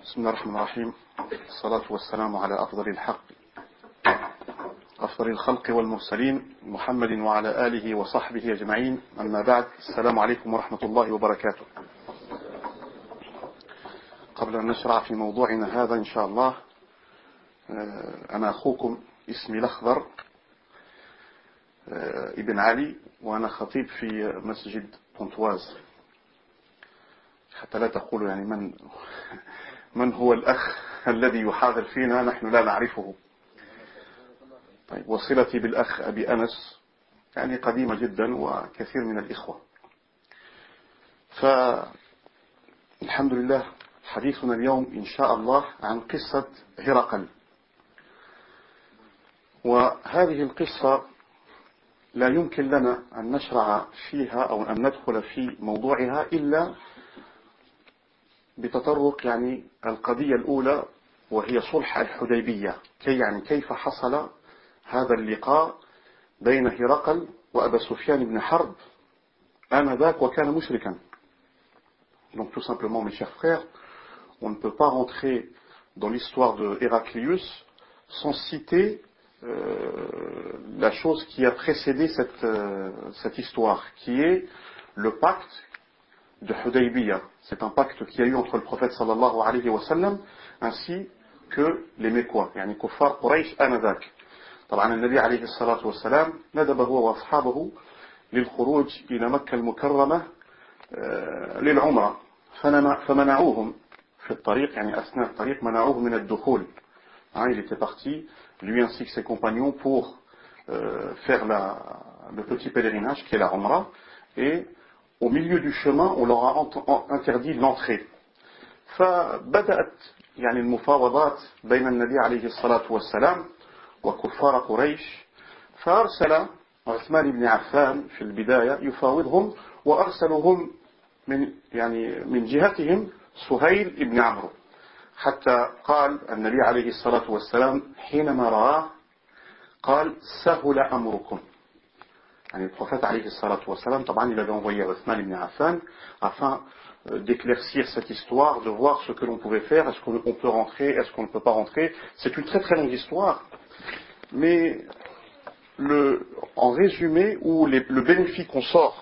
بسم الله الرحمن الرحيم. الصلاة والسلام على أفضل الخلق والمرسلين محمد وعلى آله وصحبه أجمعين. أما بعد، السلام عليكم ورحمة الله وبركاته. قبل أن نشرع في موضوعنا هذا إن شاء الله، أنا أخوكم اسمي الأخضر ابن علي، وأنا خطيب في مسجد بونتواز، حتى لا تقولوا يعني من هو الأخ الذي يحاضر فينا، نحن لا نعرفه. طيب، وصلتي بالأخ أبي أنس يعني قديمة جدا وكثير من الإخوة. فالحمد لله، حديثنا اليوم إن شاء الله عن قصة هرقل. وهذه القصة لا يمكن لنا أن نشرع فيها أو أن ندخل في موضوعها إلا بتطرق يعني القضية الأولى، وهي صلح الحديبية. كيف حصل هذا اللقاء بين هرقل وأبا سفيان بن حرب آنذاك وكان مشركا. Donc tout simplement, mes chers frères, on ne peut pas rentrer dans l'histoire de Héraclius sans citer la chose qui a précédé cette histoire, qui est le pacte de Hudaybiyah. C'est un pacte qui a eu entre le prophète sallallahu alayhi wa sallam ainsi que les Mécois, يعني كفار قريش آنذاك. طبعا النبي عليه الصلاة والسلام ندب هو وأصحابه للخروج إلى مكة المكرمة للعمرة، فمنعوهم في الطريق، يعني أثناء الطريق منعوهم من الدخول. Il était parti, lui ainsi que ses compagnons, pour faire le petit pèlerinage qui est la Umrah, et au milieu du chemin on leur a interdit l'entrée. فبدأت يعني المفاوضات بين النبي عليه الصلاة والسلام وكفار قريش، فأرسل عثمان بن عفان في البداية يفاوضهم، وأرسلهم من جهتهم سهيل بن عمرو، حتى قال النبي عليه الصلاة والسلام حينما رآه قال سهل أمركم. يعني le prophète عليه الصلاة والسلام, طبعا il avait envoyé Othman ibn Affan afin d'éclaircir cette histoire, de voir ce que l'on pouvait faire, est-ce qu'on peut rentrer, est-ce qu'on ne peut pas rentrer. C'est une très très longue histoire, mais en résumé, où le bénéfice qu'on sort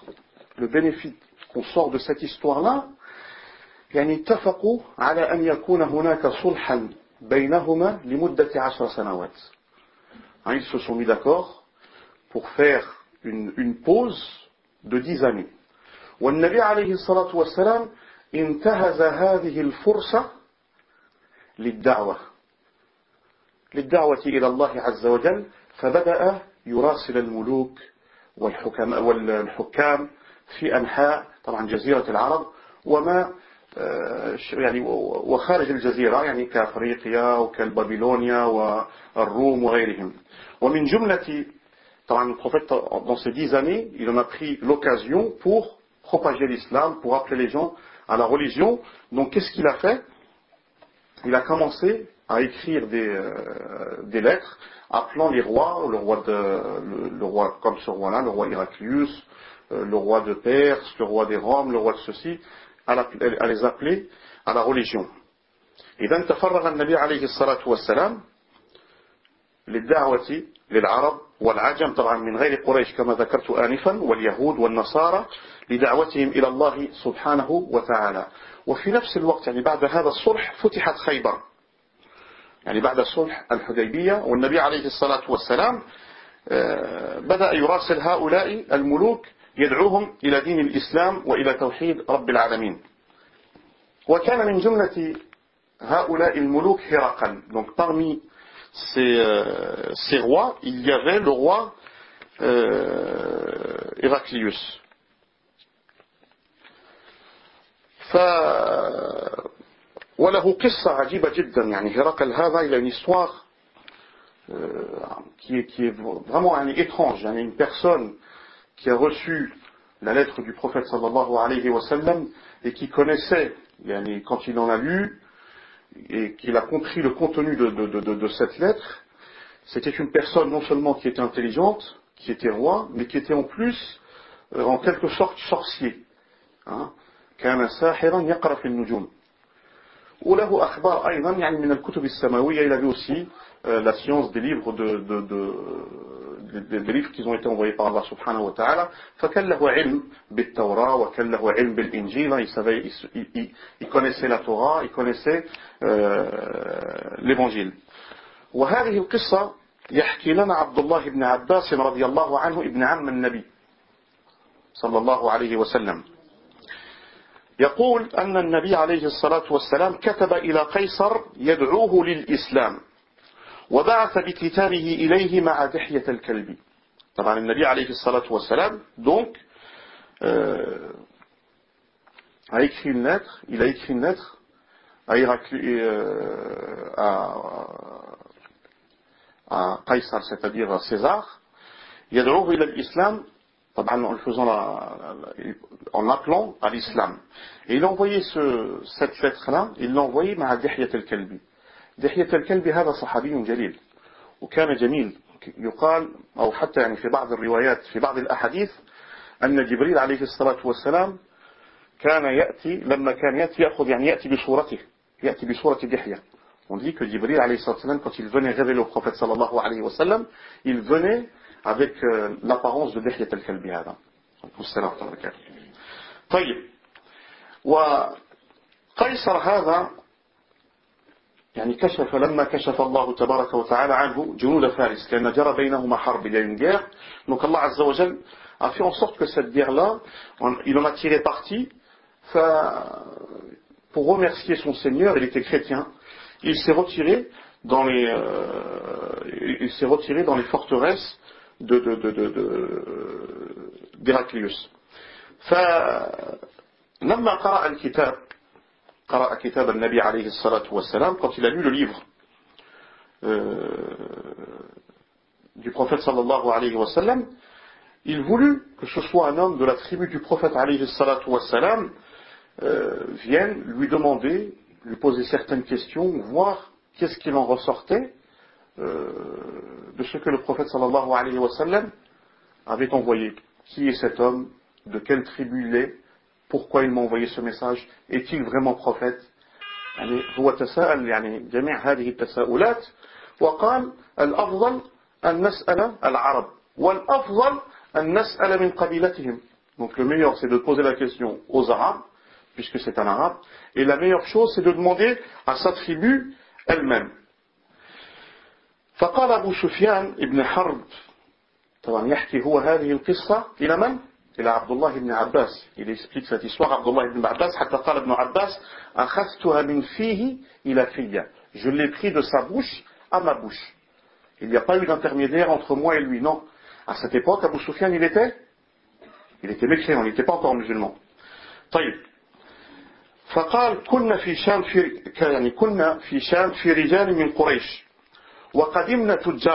de cette histoire-là, يعني اتفقوا على أن يكون هناك صلحا بينهما لمدة 10 سنوات. Ils se sont mis d'accord pour faire une pause de 10 années. والنبي عليه الصلاة والسلام انتهز هذه الفرصة للدعوة إلى الله عز وجل، فبدأ يراسل الملوك والحكام في أنحاء طبعا جزيرة العرب وما يعني وخارج الجزيرة، يعني كأفريقيا وكالبابلونيا والروم وغيرهم. ومن جملة طبعا le prophète dans ces 10 années, il en a pris l'occasion pour propager l'islam, pour appeler les gens à la religion. Donc qu'est-ce qu'il a fait? Il a commencé à écrire des lettres appelant les rois, le roi comme ce roi-là, le roi Héraclius, le roi de Perse, le roi des Roms, le roi de ceci, à les appeler à la religion. إذن تفرغ النبي عليه الصلاة والسلام للدعوة للعرب والعجم، طبعا من غير قريش كما ذكرت آنفا، واليهود والنصارى، لدعوتهم إلى الله سبحانه وتعالى. وفي نفس الوقت يعني بعد هذا الصلح فتحت خيبر، يعني بعد صلح الحديبية، والنبي عليه الصلاة والسلام بدأ يراسل هؤلاء الملوك يدعوهم إلى دين الإسلام وإلى توحيد رب العالمين. وكان من جملة هؤلاء الملوك هرقل. Donc parmi ces rois, il y avait le roi Héraclius. وله قصة عجيبة جدا. يعني هرقل هذا il a une histoire qui est vraiment étrange. يعني une personne qui a reçu la lettre du prophète sallallahu alayhi wa sallam et qui connaissait, yani, quand il en a lu et qu'il a compris le contenu de cette lettre, c'était une personne non seulement qui était intelligente, qui était roi, mais qui était en plus en quelque sorte sorcier. كان ساحرا يقرأ في النجوم. وله أخبار أيضا يعني من الكتب السماوية. Il avait aussi la science des livres des livres qui ont été envoyés par Allah subhanahu wa ta'ala. فكان له علم بالتوراة وكان له علم بالإنجيل. Il connaissait la Torah, il connaissait l'évangile. وهذه القصة يحكي لنا عبد الله بن عباس رضي الله عنه ابن عم النبي صلى الله عليه وسلم. يقول أن النبي عليه الصلاة والسلام كتب إلى قيصر يدعوه للإسلام وبعث بكتابه إليه مع دحية الكلب. طبعا النبي عليه الصلاة والسلام donc a écrit une lettre, il a écrit une lettre à Qaysar, c'est-à-dire à César, يدعوه إلى الإسلام طبعا en appelant à l'islam. Et il a envoyé cette lettre-là, il l'a envoyée مع دحية الكلب. دحية الكلب هذا صحابي جليل وكان جميل. يقال أو حتى يعني في بعض الروايات في بعض الأحاديث أن جبريل عليه الصلاة والسلام كان يأتي لما كان يأتي يأخذ يعني يأتي بصورته يأتي بصورة دحية. On dit que Jibril alayhi salam, quand il venait révéler au prophète sallallahu alayhi wa sallam, il venait avec l'apparence de Dihya al-Kalbi hada. Wassalam wa barakatuh. طيب. وقيصر هذا يعني كشف لما كشف الله تبارك وتعالى عنه جنود فارس كان جرى بينهما حرب. Il y a une guerre. Donc Allah Azza wa Jal a fait en sorte que cette guerre-là, il en a tiré parti. Pour remercier son Seigneur, il était chrétien. Il s'est retiré dans les forteresses d'Héraclius. فلما قرأ كتاب النبي عليه الصلاة والسلام, quand il a lu le livre du prophète sallallahu alayhi wa sallam, il voulut que ce soit un homme de la tribu du prophète alayhi salatu wa sallam vienne lui demander, lui poser certaines questions, voir qu'est-ce qu'il en ressortait de ce que le prophète sallallahu alayhi wa sallam avait envoyé. Qui est cet homme? De quelle tribu il est? Pourquoi il m'a envoyé ce message? Est-il vraiment prophète? يعني هو تساءل يعني جميع هذه التساؤلات وقال الأفضل أن نسأل العرب والأفضل أن نسأل من قبيلتهم. Donc le meilleur c'est de poser la question aux Arabes puisque c'est un arabe, et la meilleure chose c'est de demander à sa tribu elle-même. فقال أبو سفيان ابن حرب, طبعا يحكي هو هذه القصة إلى من؟ إلى عبد الله بن عباس. Il explique cette histoire à Abdullah ibn Abbas. حتى قال ابن عباس أخذتها من فيه إلى فيه. Je l'ai pris de sa bouche à ma bouche. Il n'y a pas eu d'intermédiaire entre moi et lui. Non. À cette époque, Abu Sufyan, il était mécréant, il n'était pas encore musulman. طيب. فقال كنا في شام في رجال من قريش وقدمنا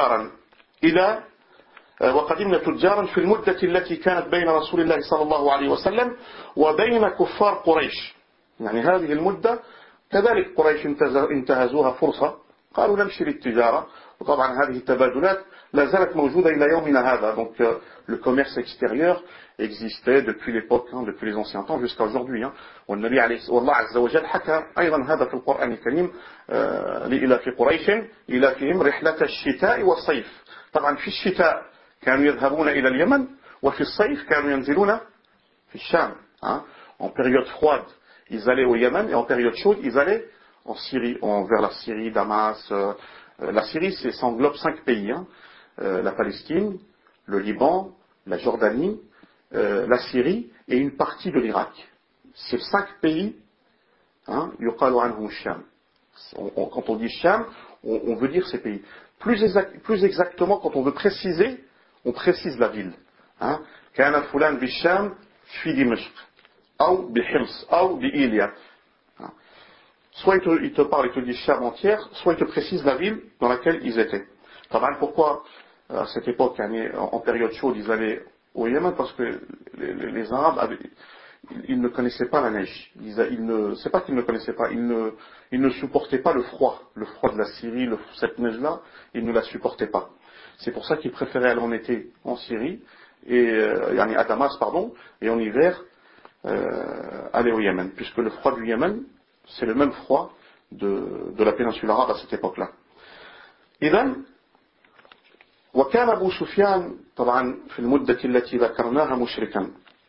تجارا في المدة التي كانت بين رسول الله صلى الله عليه وسلم وبين كفار قريش. يعني هذه المدة كذلك قريش انتهزوها فرصة, قالوا نمشي للتجارة. وطبعا هذه التبادلات لا زالت موجودة إلى يومنا هذا. Donc le commerce extérieur existait depuis l'époque, depuis les anciens temps jusqu'à aujourd'hui. والنبي عليه والله عز وجل حكى أيضا هذا في القرآن الكريم لإلاف قريش إلافهم رحلة الشتاء والصيف. طبعا في الشتاء كانوا يذهبون إلى اليمن وفي الصيف كانوا ينزلون في الشام. En période froide ils allaient au Yémen et en période chaude ils allaient en Syrie, vers la Syrie, Damas. La Syrie ça englobe 5 pays, la Palestine, le Liban, la Jordanie, la Syrie et une partie de l'Irak. Ces 5 pays, yuqalu anhum Sham. Quand on dit Sham, on veut dire ces pays. Plus exactement, quand on veut préciser, on précise la ville. Kana fulan bi Sham fi Dimashq, ou bi Hims, ou bi Ilia. Soit il te parle, il te dit Sham entière, soit il te précise la ville dans laquelle ils étaient. Pourquoi à cette époque, en période chaude, ils allaient au Yémen? Parce que les Arabes ils ne connaissaient pas la neige. C'est pas qu'ils ne connaissaient pas, ils ne supportaient pas le froid de la Syrie, cette neige-là, ils ne la supportaient pas. C'est pour ça qu'ils préféraient aller en été en Syrie, à Damas, et en hiver aller au Yémen, puisque le froid du Yémen, c'est le même froid de la péninsule arabe à cette époque-là. إذن وكان أبو سفيان طبعا في المدة التي ذكرناها مشركا.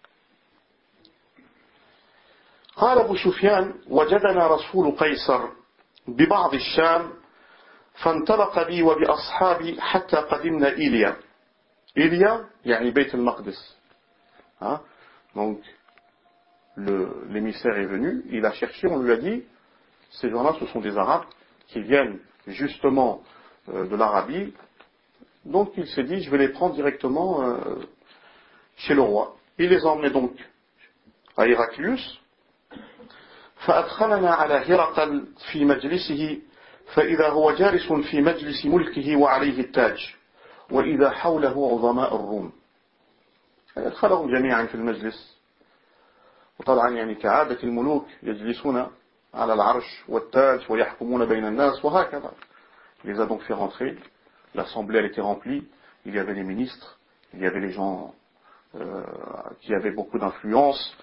قال أبو سفيان: وجدنا رسول قيصر ببعض الشام فانطلق بي وبأصحابي حتى قدمنا إيليا. إيليا يعني بيت المقدس. Donc l'émissaire est venu, il a cherché, on lui a dit, ces gens-là ce sont des Arabes qui viennent justement de l'Arabie. Donc il s'est dit, je vais les prendre directement chez le roi. Il les a emmenés donc à Héraclius. فأدخلنا على هرقل في مجلسه فإذا هو جالس في مجلس ملكه وعليه التاج وإذا حوله عظماء الروم. أدخلهم جميعا في المجلس، وطبعا يعني كعادة الملوك يجلسون على العرش والتاج ويحكمون بين الناس وهكذا. Il les a donc fait rentrer. L'assemblée elle était remplie. Il y avait les ministres, il y avait les gens qui avaient beaucoup d'influence.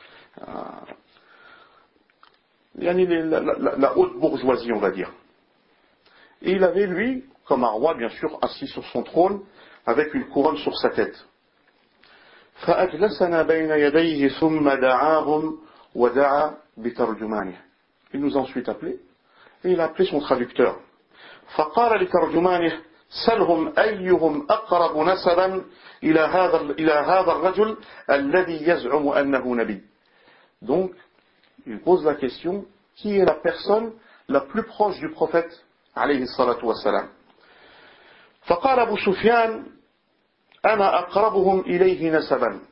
La haute bourgeoisie, on va dire. Et il avait, lui, comme un roi, bien sûr, assis sur son trône, avec une couronne sur sa tête. فأجلسنا بين يديه ثم دعاهم ودعا بترجمانه. Il nous a ensuite appelés, et il a appelé son traducteur. فقال لترجمانه: سلهم أيهم أقرب نسبا إلى هذا الرجل الذي يزعم أنه نبي. Donc, il pose la question, qui est la personne la plus proche du prophète عليه الصلاة والسلام. فقال أبو سفيان: أنا أقربهم إليه نسبا.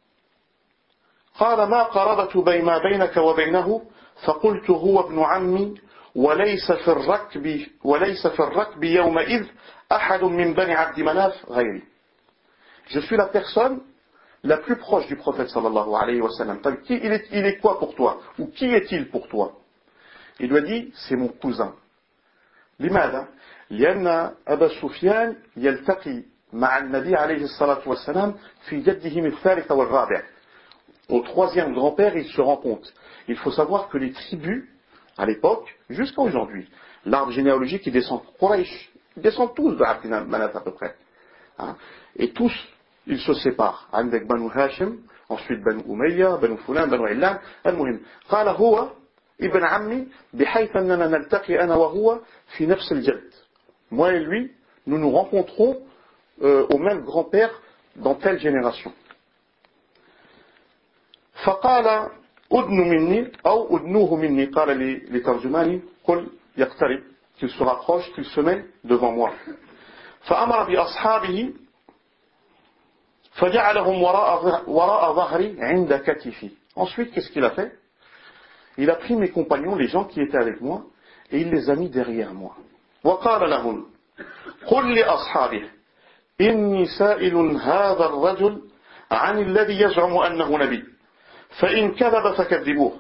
قال: ما قربت ما بينك وبينه؟ فقلت: هو ابن عمي وليس في الركب يومئذ أحد من بني عبد مناف غيري. Je suis la personne la plus proche du prophète sallallahu alayhi wa sallam. Il est quoi pour toi? Ou qui est-il pour toi? Il lui a dit, c'est mon cousin. لماذا؟ لأن أبا سفيان يلتقي مع النبي عليه الصلاة والسلام في جدهم الثالث والرابع. Au troisième grand-père, ils se rencontrent. Il faut savoir que les tribus, à l'époque, jusqu'à aujourd'hui, l'arbre généalogique, il descend Quraysh, ils descendent tous de Abd Manaf à peu près. Et tous, ils se séparent. عندك بنو هاشم, ensuite بنو أمية, بنو فلان, بنو علان. المهم, قال هو ابن عمي بحيث أننا نلتقي أنا وهو في نفس الجد. Moi et lui, nous nous rencontrons au même grand-père dans telle génération. فقال أدن مني أو أدنوه مني. قال لترجماني قل يقترب, qu'il se rapproche, qu'il se met devant moi. فأمر بأصحابه فجعلهم وراء ظهري عند كتفي. Ensuite, qu'est-ce qu'il a fait? Il a pris mes compagnons, les gens qui étaient avec moi, et il les a mis derrière moi. وقال لهم قل لأصحابه إني سائل هذا الرجل عن الذي يزعم أنه نبي فإن كذب فكذبوه.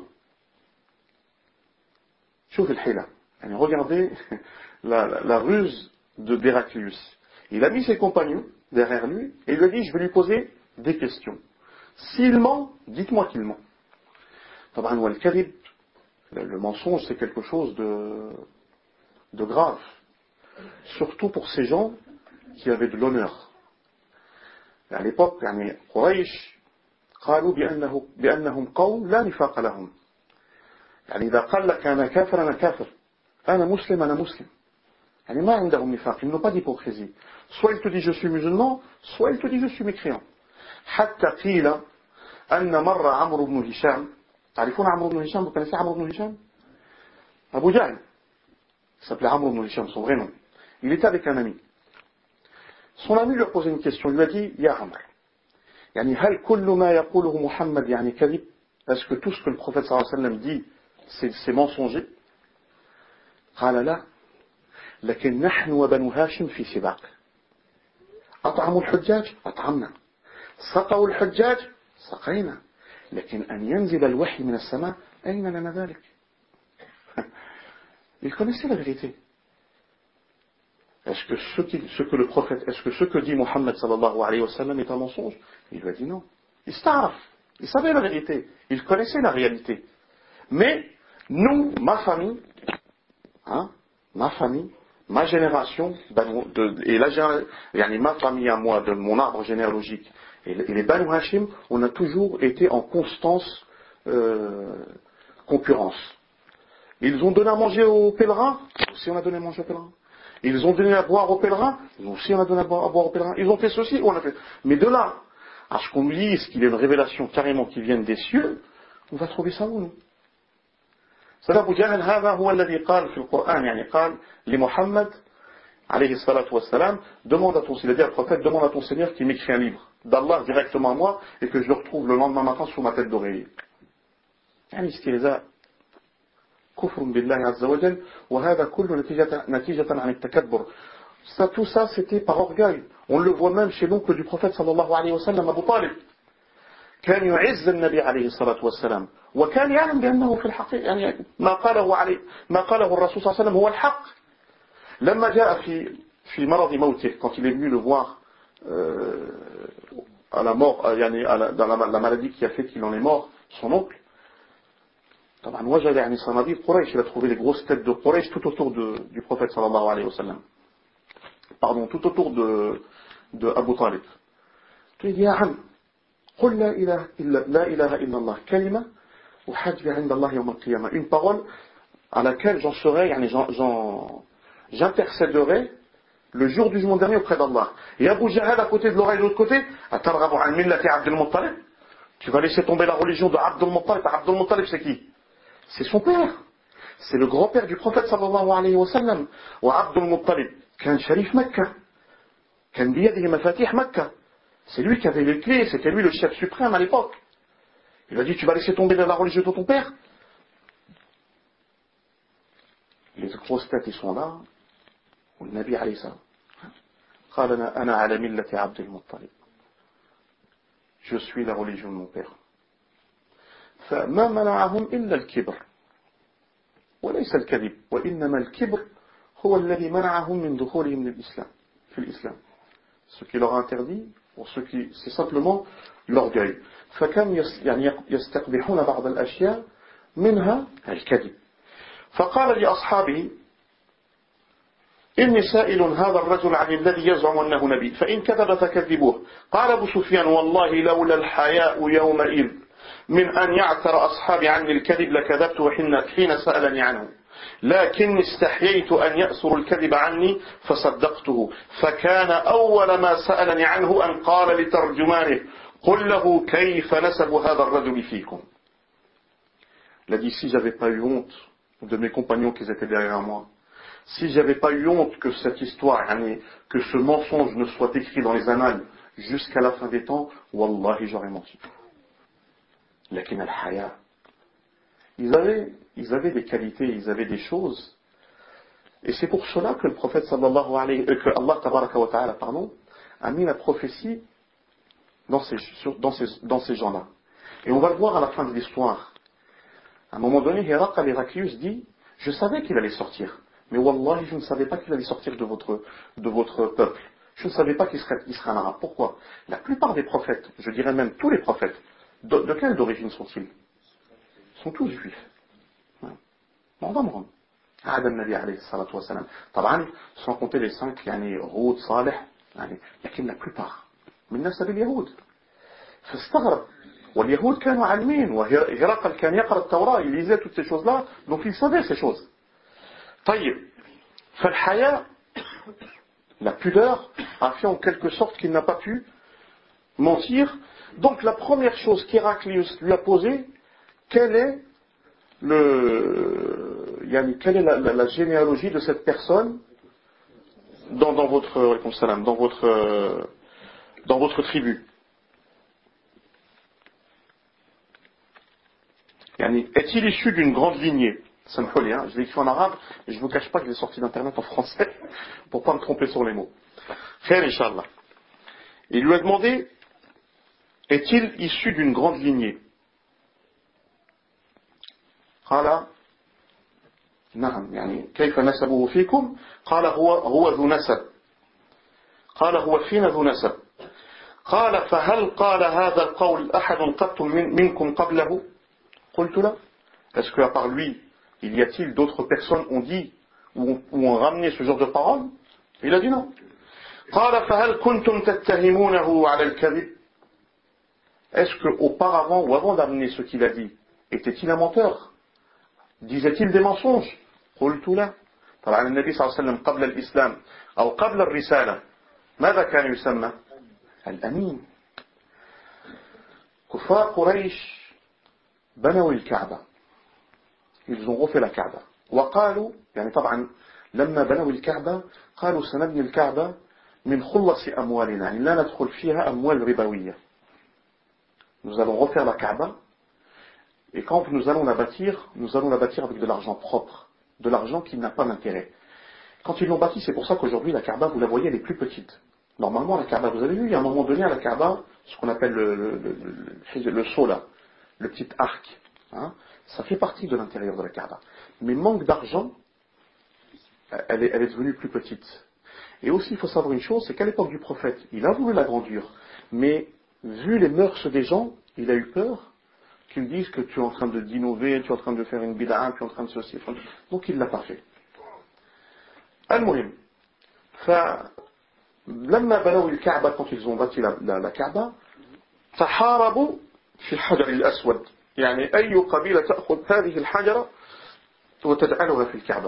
شوف الحيلة. يعني regardez la ruse d'Héraclius. Il a mis ses compagnons derrière lui et il lui a dit, je vais lui poser des questions. S'il ment, dites-moi qu'il ment. طبعا والكذب, le mensonge, c'est quelque chose de grave. Surtout pour ces gens qui avaient de l'honneur. À l'époque, يعني قريش قالوا بأنهم قوم لا نفاق لهم. يعني إذا قال لك أنا كافر أنا كافر, أنا مسلم أنا مسلم. يعني ما عندهم نفاق, ils n'ont pas d'hypocrisie. Soit il te dit je suis musulman, soit il te dit je suis mécréant. حتى قيل أن مر عمرو بن هشام. تعرفون عمرو بن هشام? Vous connaissez عمرو بن هشام? Abu Jahl. Il s'appelait Amr ibn Hisham, son vrai nom. Il était avec un ami. Son ami lui a posé une question. Il lui a dit, Ya Amr, يعني هل كل ما يقوله محمد يعني كذب? Est-ce que tout ce que le prophète sallallahu alayhi wa sallam dit, c'est mensonger? قال لا, لكن نحن وبنو هاشم في سباق. أطعموا الحجاج أطعمنا, سقوا الحجاج سقينا, لكن أن ينزل الوحي من السماء أين لنا ذلك? Il connaissait la vérité. Est-ce que ce que le prophète, est-ce que ce que dit Mohammed sallallahu alayhi wa sallam est un mensonge? Il lui a dit non. Il savait la vérité. Il connaissait la réalité. Mais nous, ma famille, hein, ma famille, ma génération, ma famille à moi, de mon arbre généalogique, et les Banu Hashim, on a toujours été en constance concurrence. Ils ont donné à manger aux pèlerins, nous aussi on a donné à manger aux pèlerins. Ils ont donné à boire aux pèlerins, nous aussi on a donné à boire aux pèlerins. Ils ont fait ceci, on a fait. Mais de là, à ce qu'on nous dise qu'il y a une révélation carrément qui vient des cieux, on va trouver ça où nous? C'est Abu Jahl, هذا هو الذي قال في القرآن, يعني قال لمحمد عليه الصلاة والسلام, demande à ton, il a dit à le prophète, demande à ton Seigneur qu'il m'écrit un livre d'Allah directement à moi et que je le retrouve le lendemain matin sous ma tête d'oreiller. يعني استهزاء كفر بالله عز وجل وهذا كله نتيجة عن التكبر. Ça, tout ça c'était par orgueil. On le voit même chez l'oncle du prophète صلى الله عليه وسلم أبو طالب. كان يعز النبي عليه الصلاة والسلام وكان يعلم بأنه في الحقيقة يعني ما قاله الرسول صلى الله عليه وسلم هو الحق. لما جاء في مرض موته, quand il est venu le voir à la mort, dans la maladie qui a fait qu'il en est mort, son oncle, طبعا وجد يعني صناديد قريش, il a trouvé les grosses têtes de Quraysh tout autour du prophète sallallahu alayhi wa sallam. Pardon, tout autour de Abu Talib. Il dit, يا عم قل لا إله إلا الله كلمة وحج عند الله يوم القيامة, une parole à laquelle j'en serai, j'intercéderai le jour du jugement dernier auprès d'Allah. Et Abu Jahl à côté de l'oreille de l'autre côté, atarghabu an millati Abdul Muttalib, tu vas laisser tomber la religion de Abdul Muttalib. Abdul Muttalib c'est qui? C'est son père, c'est le grand-père du prophète sallallahu alayhi wa sallam. Wa Abdul Muttalib كان شريف مكة, كان بيده مفاتيح مكة, c'est lui qui avait les clés, c'était lui le chef suprême à l'époque. Il a dit, tu vas laisser tomber la religion de ton père? Les grosses têtes, ils sont là. Ou le Nabi alayhi salam. قال أنا على ملة عبد المطلب. Je suis la religion de mon père. فما منعهم إلا الكبر. وليس الكذب. وإنما الكبر هو الذي منعهم من دخولهم للإسلام. في الإسلام. Ce qui leur a interdit, pour ceux qui, c'est simplement l'orgueil. فكم يستقبحون بعض الأشياء منها الكذب. فقال لأصحابه إني سائل هذا الرجل عن الذي يزعم أنه نبي فإن كذب فكذبوه. قال أبو سفيان والله لولا الحياء يومئذ من أن يعثر أصحابي عني الكذب لكذبت حين سألني عنه لكن استحييت أن يأثر الكذب عني فصدقته فكان أول ما سألني عنه أن قال لترجمانه قل له كيف نسب هذا الرجل فيكم. Il a dit si j'avais pas eu honte de mes compagnons qui étaient derrière moi, si j'avais pas eu honte que cette histoire, que ce mensonge ne soit écrit dans les annales jusqu'à la fin des temps, wallahi j'aurais menti. Lakin al-haya. Ils avaient des qualités, ils avaient des choses. Et c'est pour cela que le prophète sallallahu alayhi que Allah tabaraka wa ta'ala, a mis la prophétie dans ces gens-là. Et on va le voir à la fin de l'histoire. À un moment donné, Héraclius dit, je savais qu'il allait sortir. Mais wallahi, je ne savais pas qu'il allait sortir de votre peuple. Je ne savais pas qu'il serait un arabe. Pourquoi? La plupart des prophètes, je dirais même tous les prophètes, de quelle origine sont-ils? Ils sont tous juifs. معظمهم. هذا النبي عليه الصلاة والسلام. طبعا sans compter les 5 هود صالح لكن la plupart من نسب اليهود. فاستغرب. واليهود كانوا عالمين وهرقل كان يقرأ التوراة, il lisait toutes ces choses-là, donc il savait ces choses. طيب. فالحياء, la pudeur, a fait en quelque sorte qu'il n'a pas pu mentir. Donc la première chose qu'Héraclius lui a posée, quelle est la généalogie de cette personne dans votre tribu? Est-il issu d'une grande lignée? Je l'ai écrit en arabe, et je ne vous cache pas que je l'ai sorti d'internet en français, pour ne pas me tromper sur les mots. Khair, Inch'Allah. Il lui a demandé, est-il issu d'une grande lignée? قال نعم كيف نسبه فيكم؟ قال هو ذو نسب. قال هو فينا ذو نسب. قال فهل قال هذا القول أحد قط منكم قبله؟ قلت لا. Est-ce qu'à part lui, il y a-t-il d'autres personnes ont dit où on ramenait ce genre de paroles? Il a dit non. قال فهل كنتم تتهمونه على الكذب? Est-ce qu'auparavant ou avant d'amener ce qu'il a dit, était-il un menteur? Disait-il des mensonges? قلت لا. طبعا النبي صلى الله عليه وسلم قبل الإسلام أو قبل الرسالة ماذا كان يسمى؟ الأمين. كفار قريش بنوا الكعبة. Ils ont refait la Kaaba. وقالوا يعني طبعا لما بنوا الكعبة قالوا سنبني الكعبة من خلص أموالنا يعني لا ندخل فيها أموال ربوية. Nous allons refaire la Kaaba et quand nous allons la bâtir avec de l'argent propre, de l'argent qui n'a pas d'intérêt. Quand ils l'ont bâtie, c'est pour ça qu'aujourd'hui la Kaaba, vous la voyez, elle est plus petite. Normalement la Kaaba, vous avez vu, il y a un moment donné à la Kaaba, ce qu'on appelle le sceau là, le petit arc, hein, ça fait partie de l'intérieur de la Kaaba. Mais manque d'argent, elle est devenue plus petite. Et aussi, il faut savoir une chose, c'est qu'à l'époque du prophète, il a voulu l'agrandir, mais vu les mœurs des gens, il a eu peur qu'ils disent que tu es en train d'innover, tu es en train de faire une bid'a, tu es en train de ceci. Donc il ne l'a pas fait. Al-Muhim. لما بنوا الكعبة quand ils ont bâti la Kaaba تحاربوا في الحجر الأسود يعني أي قبيلة تأخذ هذه الحجرة وتجعلها في الكعبة.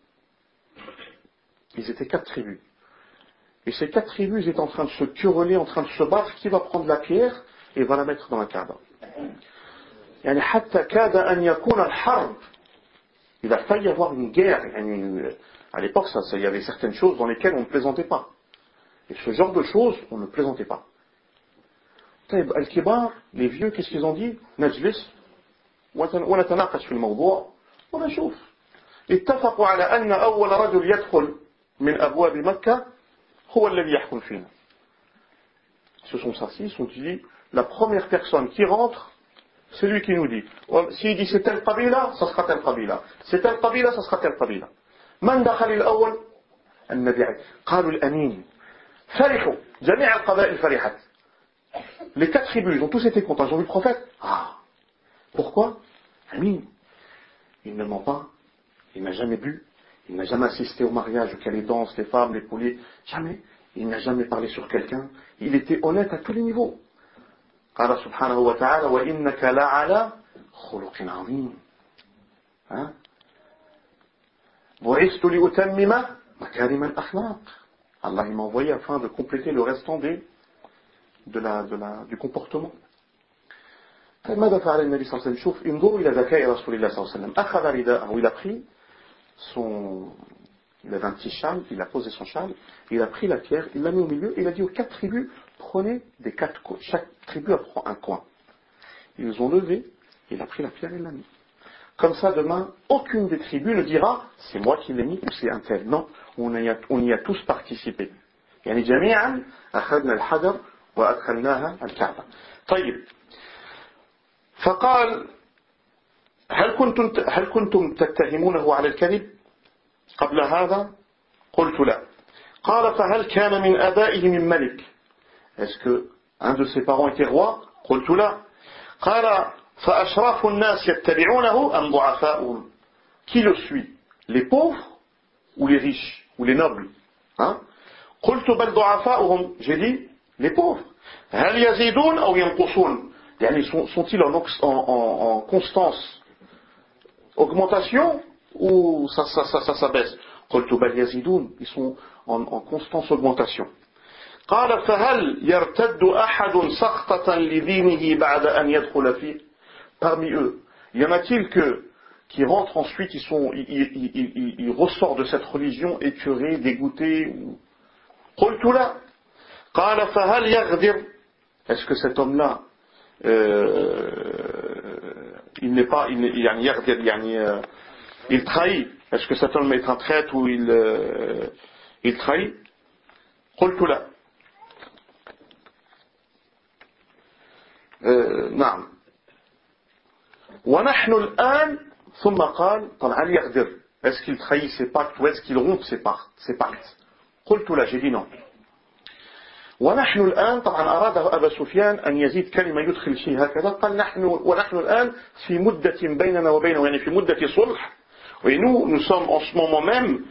Ils étaient 4 tribus. Et ces 4 tribus étaient en train de se quereller, en train de se battre, qui va prendre la pierre et va la mettre dans la Kaaba. يعني حتى كاد أن يكون الحرب. Il a failli y avoir une guerre. À l'époque, il y avait certaines choses dans lesquelles on ne plaisantait pas. Et ce genre de choses, on ne plaisantait pas. Al-Kibar, les vieux, qu'est-ce qu'ils ont dit? نجلس ونتناقش في الموضوع ونشوف. اتفقوا على أن أول رجل يدخل من أبواب مكة هو الذي يحكم فينا. Ils se sont assis, ils se sont dit, la première personne qui rentre, c'est lui qui nous dit. S'il dit c'est telle qabila, ça sera telle qabila. C'est telle qabila, ça sera telle qabila. من دخل الأول؟ النبي. قالوا الأمين. فرحوا. جميع القبائل فرحت. Les 4 tribus, ils ont tous été contents. Ils ont vu le prophète. Ah. Pourquoi? Amin. Il ne ment pas. Il n'a jamais bu. Il n'a jamais assisté au mariage auquel les danses, les femmes, les pouliers. Jamais. Il n'a jamais parlé sur quelqu'un. Il était honnête à tous les niveaux. قال سبحانه وتعالى وإنك لعلى خلق عظيم. بعثت لأتمم مكارم الأخلاق. Allah m'a envoyé afin de compléter le restant du comportement. ماذا فعل النبي صلى الله عليه وسلم؟ شوف انظروا إلى ذكاء رسول الله صلى الله عليه وسلم. أخذ رداءه, il a pris il avait un petit châle, il a posé son châle, il a pris la pierre, il l'a mis au milieu, il a dit aux 4 tribus, prenez des 4 coins, chaque tribu prend un coin. Ils ont levé, il a pris la pierre et l'a mis. Comme ça, demain, aucune des tribus ne dira, c'est moi qui l'ai mis ou c'est un tel. Non, on y a tous participé. يعني جميعا أخذنا الحجر وأدخلناها الكعبة. طيب. فقال هل كنتم تتهمونه على الكذب قبل هذا؟ قلت لا. قال فهل كان من آبائه من ملك؟ Est-ce que un de ses parents était roi? قلت لا. قال فأشراف الناس يتبعونه أم ضعفاؤهم؟ Qui le suit? Les pauvres ou les riches ou les nobles? قلت بل ضعفاؤهم. J'ai dit les pauvres. هل يزيدون أو ينقصون؟ يعني sont-ils en constance augmentation ou ça baisse? قلت بل يزيدون. Ils sont en constance augmentation. قال فهل يرتد أحد سخطة لدينه بعد أن يدخل فيه؟ Parmi eux, y en a-t-il qui rentrent ensuite, ils ressortent de cette religion écœurés, dégoûtés? قلت لا. قال فهل يغدر? Est-ce que cet homme-là il n'est pas il trahit? Est-ce que cet homme est un traître ou il trahit? قلت لا. نعم. ونحن الآن ثم قال طبعا هل يغدر? Est-ce qu'il trahit ses pactes ou est-ce qu'il rompt ses pactes? قلت لا. J'ai dit non. ونحن الآن طبعا أراد أبا سفيان أن يزيد كلمة يدخل شيء هكذا. قال ونحن الآن في مدة بيننا وبينه يعني في مدة صلح Et nous sommes en ce moment même,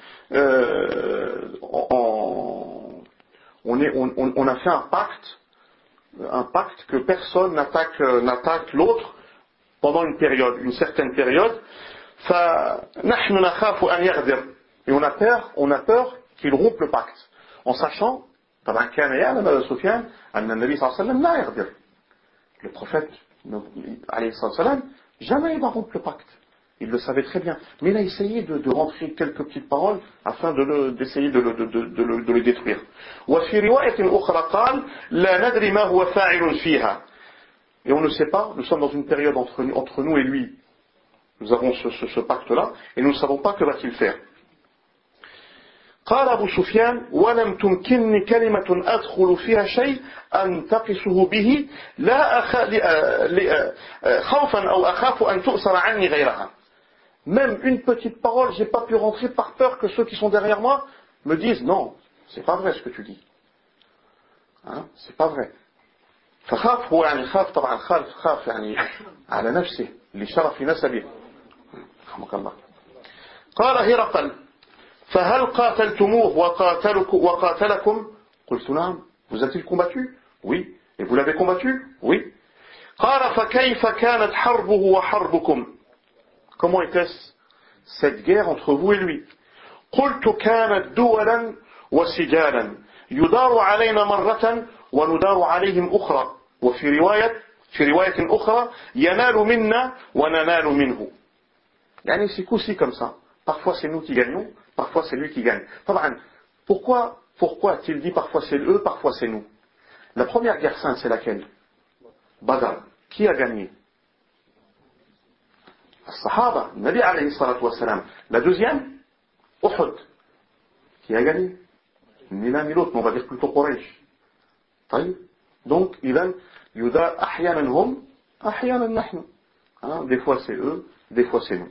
on a fait un pacte que personne n'attaque l'autre pendant une certaine période. فنحن نخاف أن يغدر. Et on a peur qu'il rompe le pacte, en sachant طبعا كان يعلم أبو سفيان أن النبي صلى الله عليه وسلم لا يغدر. Le prophète عليه الصلاة والسلام jamais il va rompre le pacte. Il le savait très bien. Mais il a essayé de rentrer quelques petites paroles afin d'essayer de le détruire. وفي رواية أخرى قال لا ندري ما هو فاعل فيها. Et on ne sait pas, nous sommes dans une période entre nous et lui. Nous avons ce pacte-là, et nous ne savons pas que va-t-il faire. قال أبو سفيان ولم تمكنني كلمة أدخل فيها شيء أنتقصه به لا خوفا أو أخاف أن تؤثر عني غيرها. Même une petite parole, j'ai pas pu rentrer par peur que ceux qui sont derrière moi me disent non, c'est pas vrai ce que tu dis. Hein, c'est pas vrai. فخاف هو يعني خاف طبعا خاف يعني على نفسه لشرف نسبه. رحمك الله. قال هرقل فهل قاتلتموه وقاتلكم قلت نعم. Vous a-t-il combattu? Oui. Et vous l'avez combattu? Oui. قال فكيف كانت حربه وحربكم? Comment était-ce cette guerre entre vous et lui? قلت كانت دولا وسجالا يدار علينا مرة وندار عليهم أخرى وفي رواية أخرى ينال منا وننال منه. يعني c'est aussi comme ça. Parfois c'est nous qui gagnons, parfois c'est lui qui gagne. طبعا pourquoi a-t-il dit parfois c'est eux, parfois c'est nous? La première guerre sainte c'est laquelle? Badr. Qui a gagné? الصحابة, Nabi alayhi salatu wassalam. La deuxième, Uhud. Qui a gagné? Ni l'un ni l'autre, mais on va dire plutôt Quraysh. طيب. Donc, إذن يدار أحيانا هم أحيانا نحن. Des fois c'est eux, des fois c'est nous.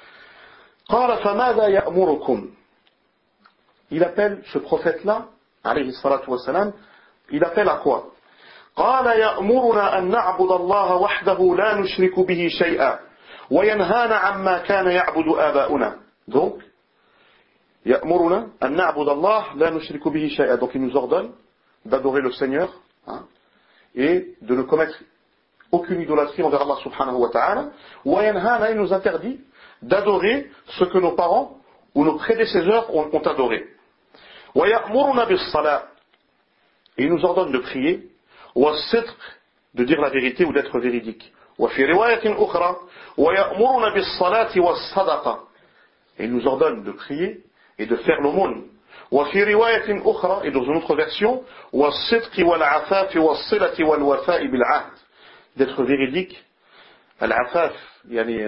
قال فماذا يأمركم? Il appelle ce prophète-là, alayhi salatu wassalam, il appelle à quoi? قال يأمرنا أن نعبد الله وحده لا نشرك به شيئا وينهانا عما كان يعبد آباؤنا. Donc, يأمرنا أن نعبد الله لا نشرك به شيئا. Donc il nous ordonne d'adorer le Seigneur et de ne commettre aucune idolâtrie envers Allah subhanahu wa ta'ala. وينهانا, il nous interdit d'adorer ce que nos parents ou nos prédécesseurs ont adoré. ويأمرنا بالصلاة, et il nous ordonne de prier. والصدق, de dire la vérité ou d'être véridique. وفي رواية أخرى ويأمرنا بالصلاة والصدقة, et il nous ordonne de prier et de faire l'aumône. وفي رواية أخرى, et dans une autre version, والصدق والعفاف والصلة والوفاء بالعهد, d'être véridique, العفاف يعني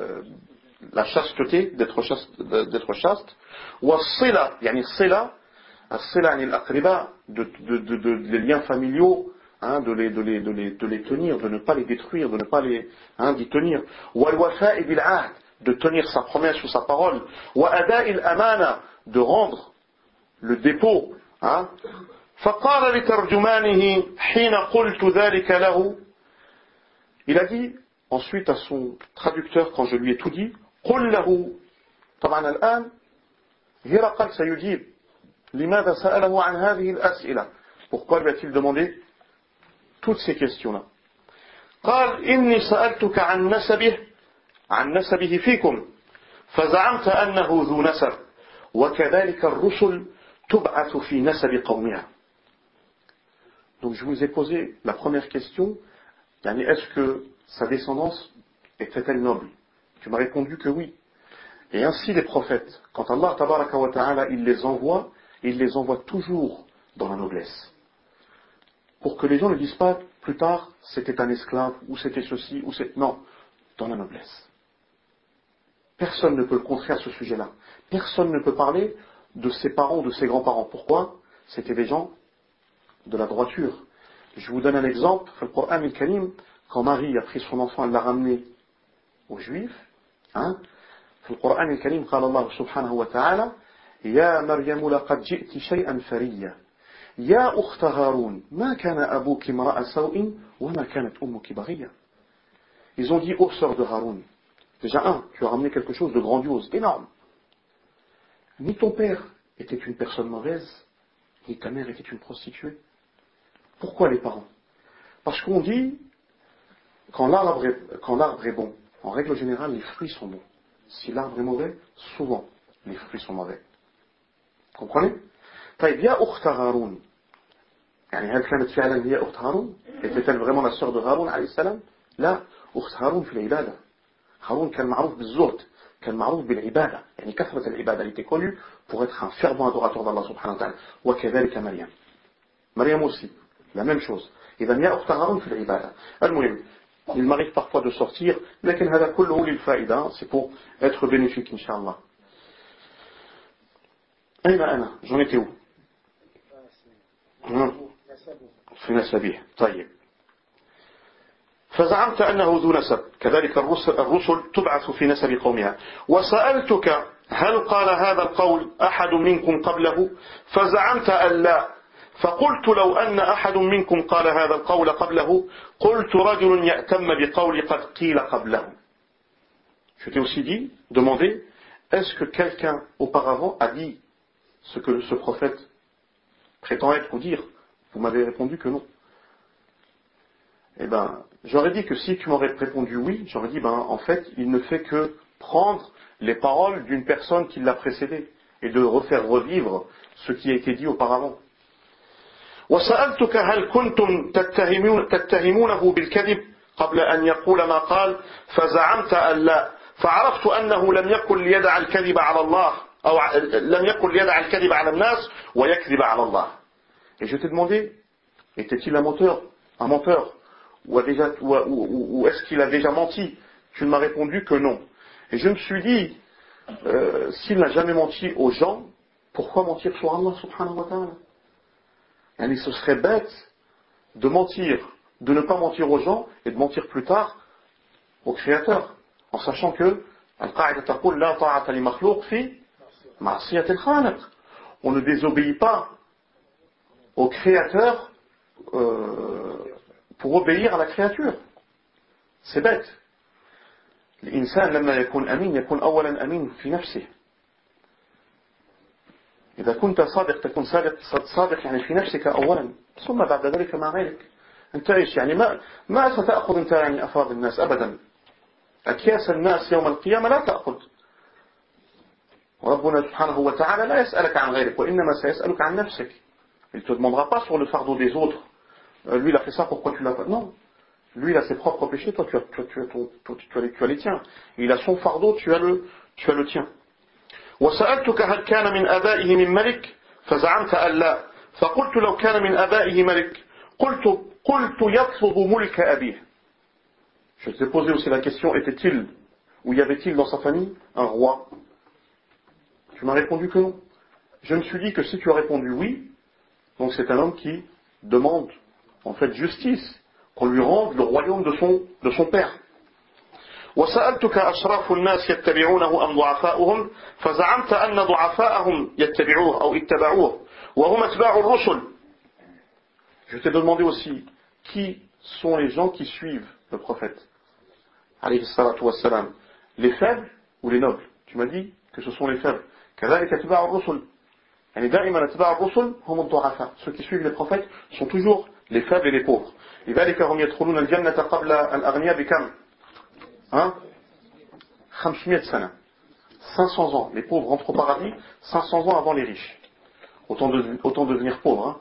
la chasteté, d'être chaste, والصلة يعني الصلة يعني الأقرباء, les liens familiaux, de les tenir, de ne pas les détruire, de ne pas d'y tenir. والوفاء بالعهد, de tenir sa promesse ou sa parole. وأداء الأمانة, de rendre le dépôt. فقال لترجمانه حين قلت ذلك له, il a dit ensuite à son traducteur quand je lui ai tout dit, قل له. طبعا الآن هرقل سيجيب لماذا سأله عن هذه الأسئلة. Pourquoi lui a-t-il demandé toutes ces questions-là? قال إني سألتك عن نسبه فيكم فزعمت أنه ذو نسب وكذلك الرسل تبعث في نسب قومها. Donc je vous ai posé la première question, est-ce que sa descendance était-elle noble? Tu m'as répondu que oui. Et ainsi les prophètes, quand Allah tabaraka wa ta'ala il les envoie toujours dans la noblesse. Pour que les gens ne disent pas plus tard c'était un esclave, ou c'était ceci, ou c'est... Non, dans la noblesse. Personne ne peut le contrer à ce sujet-là. Personne ne peut parler de ses parents ou de ses grands-parents. Pourquoi? C'était des gens de la droiture. Je vous donne un exemple. Le Coran al-Karim, quand Marie a pris son enfant, elle l'a ramené aux Juifs. Le Coran al-Karim, قال الله سبحانه وتعالى يا مريم لقد جئت شيئا فريا يا أخت هارون ما كان أبوك امرأ سوء وما كانت أمك بغيا. Ils ont dit, ô sœur de Haroun, Déjà, tu as ramené quelque chose de grandiose, énorme. Ni ton père était une personne mauvaise, ni ta mère était une prostituée. Pourquoi les parents? Parce qu'on dit, quand l'arbre est bon, en règle générale, les fruits sont bons. Si l'arbre est mauvais, souvent, les fruits sont mauvais. Comprenez? طيب يا أخت هارون يعني هل كانت فعلا هي أخت هارون؟ était-elle vraiment la sœur de Haroun عليه السلام؟ لا، أخت هارون في العبادة. هارون كان معروف بالزهد، كان معروف بالعبادة، يعني كثرة العبادة. Elle était connue pour être un fervent adorateur d'Allah subhanahu wa ta'ala. وكذلك مريم. مريم aussi, la même chose. إذا يا أخت هارون في العبادة. المهم il m'arrive parfois de sortir, لكن هذا كله للفائدة, c'est pour être bénéfique إن شاء الله. أين أنا؟ J'en étais où? في نسبه. طيب. فزعمت أنه ذو نسب، كذلك الرسل تبعث في نسب قومها. وسألتك هل قال هذا القول أحد منكم قبله؟ فزعمت أن لا، فقلت لو أن أحد منكم قال هذا القول قبله قلت رجل يأتم بقول قد قيل قبله. Je t'ai aussi dit, demandé, est-ce que quelqu'un auparavant a dit ce que ce prophète prétend être ou dire? Vous m'avez répondu que non. Eh ben, j'aurais dit que si tu m'aurais répondu oui, j'aurais dit, en fait, il ne fait que prendre les paroles d'une personne qui l'a précédé et de refaire revivre ce qui a été dit auparavant. وسألتك هل كنتم تتهمونه بالكذب قبل أن يقول ما قال فزعمت أن لا فعرفت أنه لم يكن ليدع الكذب على الله أو لم يكن ليدع الكذب على الناس ويكذب على الله. Et je t'ai demandé, était-il un menteur ou est-ce qu'il a déjà menti? Tu ne m'as répondu que non. Et je me suis dit, s'il n'a jamais menti aux gens, pourquoi mentir sur Allah subhanahu wa ta'ala? Et ce serait bête de mentir, de ne pas mentir aux gens et de mentir plus tard au Créateur, en sachant que on ne désobéit pas au Créateur pour obéir à la créature. C'est bête. الإنسان لما يكون أمين يكون أولا أمين في نفسه. إذا كنت صادق تكون صادق يعني في نفسك أولا ثم بعد ذلك مع غيرك. أنت إيش يعني ما ستأخذ أنت يعني أفراد الناس أبدا. أكياس الناس يوم القيامة لا تأخذ. وربنا سبحانه وتعالى لا يسألك عن غيرك وإنما سيسألك عن نفسك. Il ne te demandera pas sur le fardeau des autres. Lui il a fait ça, pourquoi tu l'as pas? Non. Lui il a ses propres péchés, toi tu as les tiens. Il a son fardeau, tu as le tien. وسألتك هل كان من آبائه من ملك فزعمت أن لا فقلت لو كان من آبائه ملك قلت يطلب ملك أبيه. Je t'ai posé aussi la question, était-il ou y avait-il dans sa famille un roi? Tu m'as répondu que non. Je me suis dit que si tu as répondu oui, donc c'est un homme qui demande en fait justice, qu'on lui rende le royaume de son père. وسألتك أشراف الناس يتبعونه أم ضعفاؤهم فزعمت أن ضعفاءهم يتبعوه أو اتبعوه وهم اتباع الرسل. Je t'ai demandé aussi qui sont les gens qui suivent le prophète alayhi salatu wassalam, les faibles ou les nobles? Tu m'as dit que ce sont les faibles. كذلك اتباع الرسل يعني دائما اتباع الرسل هم الضعفاء. Ceux qui suivent les prophètes sont toujours les faibles et les pauvres. لذلك هم يدخلون الجنة قبل الأغنياء بكم؟ 500 سنة. 500 ans. Les pauvres entrent au paradis 500 ans avant les riches. Autant devenir pauvre.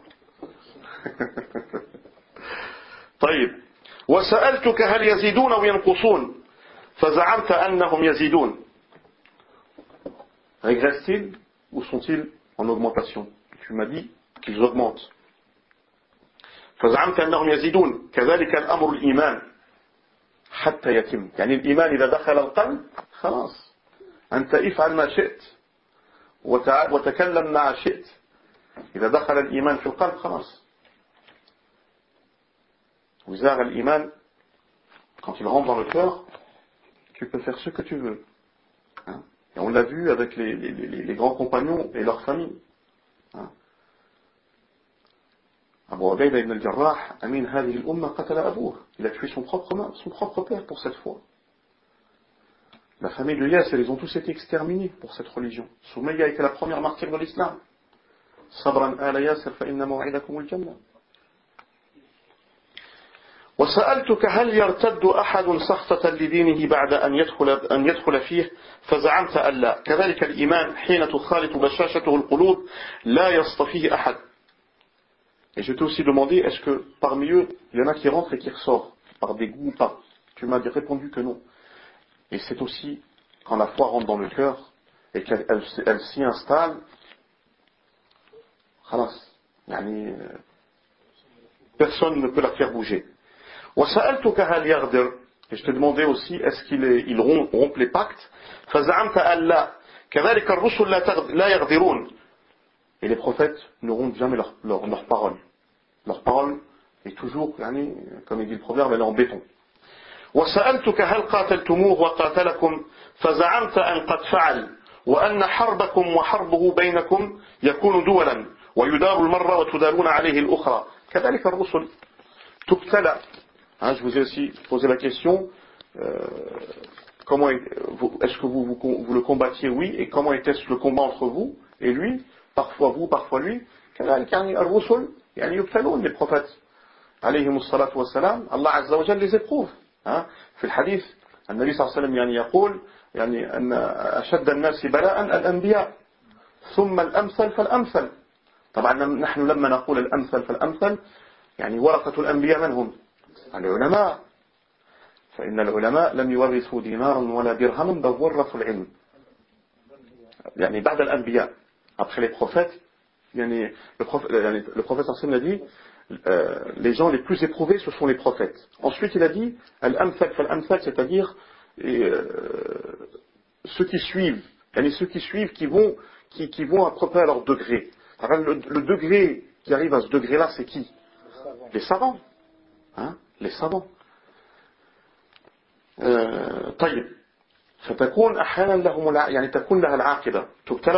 طيب. وسألتك هل يزيدون أو ينقصون فزعمت أنهم يزيدون. Régressent-ils ou sont-ils en augmentation? Tu m'as dit qu'ils augmentent. فزعمت أنهم يزيدون. كذلك الأمر الإيمان حتى يتم. يعني الإيمان إذا دخل القلب خلاص أنت افعل ما شئت وتكلم ما شئت. إذا دخل الإيمان في القلب خلاص. وزار الإيمان quand il rentre dans le cœur, tu peux faire ce que tu veux. Hein? Et on l'a vu avec les grands compagnons et leurs familles. Hein? Abu Ubayda ibn al-Jarrah, Amin hadhihi al-umma qatala abouh. Il a tué son propre père pour cette foi. La famille de Yasser, ils ont tous été exterminés pour cette religion. Soumayya a été la première martyre de l'islam. Sabran ala Yasser fa inna maw'idakum al-jannah. وسألتك هل يرتد أحد سخطة لدينه بعد أن يدخل فيه فزعمت أن لا كذلك الإيمان حين تخالط بشاشته القلوب لا يصطفيه أحد. Et je t'ai aussi demandé, est-ce que parmi eux, il y en a qui rentrent et qui ressortent par des goûts ou pas? Tu m'as répondu que non. Et c'est aussi quand la foi rentre dans le cœur et qu'elle s'y installe, personne ne peut la faire bouger. وسألتك هل يغدر. Et je te demandais aussi, est-ce qu'il rompt les pactes? فزعمت أن لا كذلك الرسل لا يغدرون. Et les prophètes ne rompent jamais leur parole. Leur parole est toujours, comme il dit le proverbe, elle est en béton. وسألتك هل قاتلتموه وقاتلكم فزعمت أن قد فعل وأن حربكم وحربه بينكم يكون دولا ويدار المرة وتدارون عليه الأخرى كذلك الرسل تبتلى. Je vous ai aussi posé la question, est-ce que vous le combattiez? Oui. Et comment était-ce le combat entre vous et lui? Parfois vous, parfois lui. Les prophètes, alayhimu salatu wa salam, Allah azza wa jalla les éprouve. في الحديث النبي صلى الله عليه وسلم يقول أن أشد الناس بلاء الأنبياء ثم الأمثل فالأمثل. طبعا نحن لما نقول الأمثل فالأمثل ورثة الأنبياء من هم؟ العلماء. فإن العلماء لم يورثوا دينارا ولا درهما بل ورثوا العلم. بعد الأنبياء, après les prophètes, le prophète sallam a dit, les gens les plus éprouvés ce sont les prophètes. Ensuite il a dit al-amthal fal-amthal, c'est-à-dire ceux qui suivent, qui vont à peu près à leur degré. Le degré qui arrive à ce degré-là, c'est qui? Les savants. Les savants. طيب فتكون أحيانا لهم تكون لها العاقبة تبتلى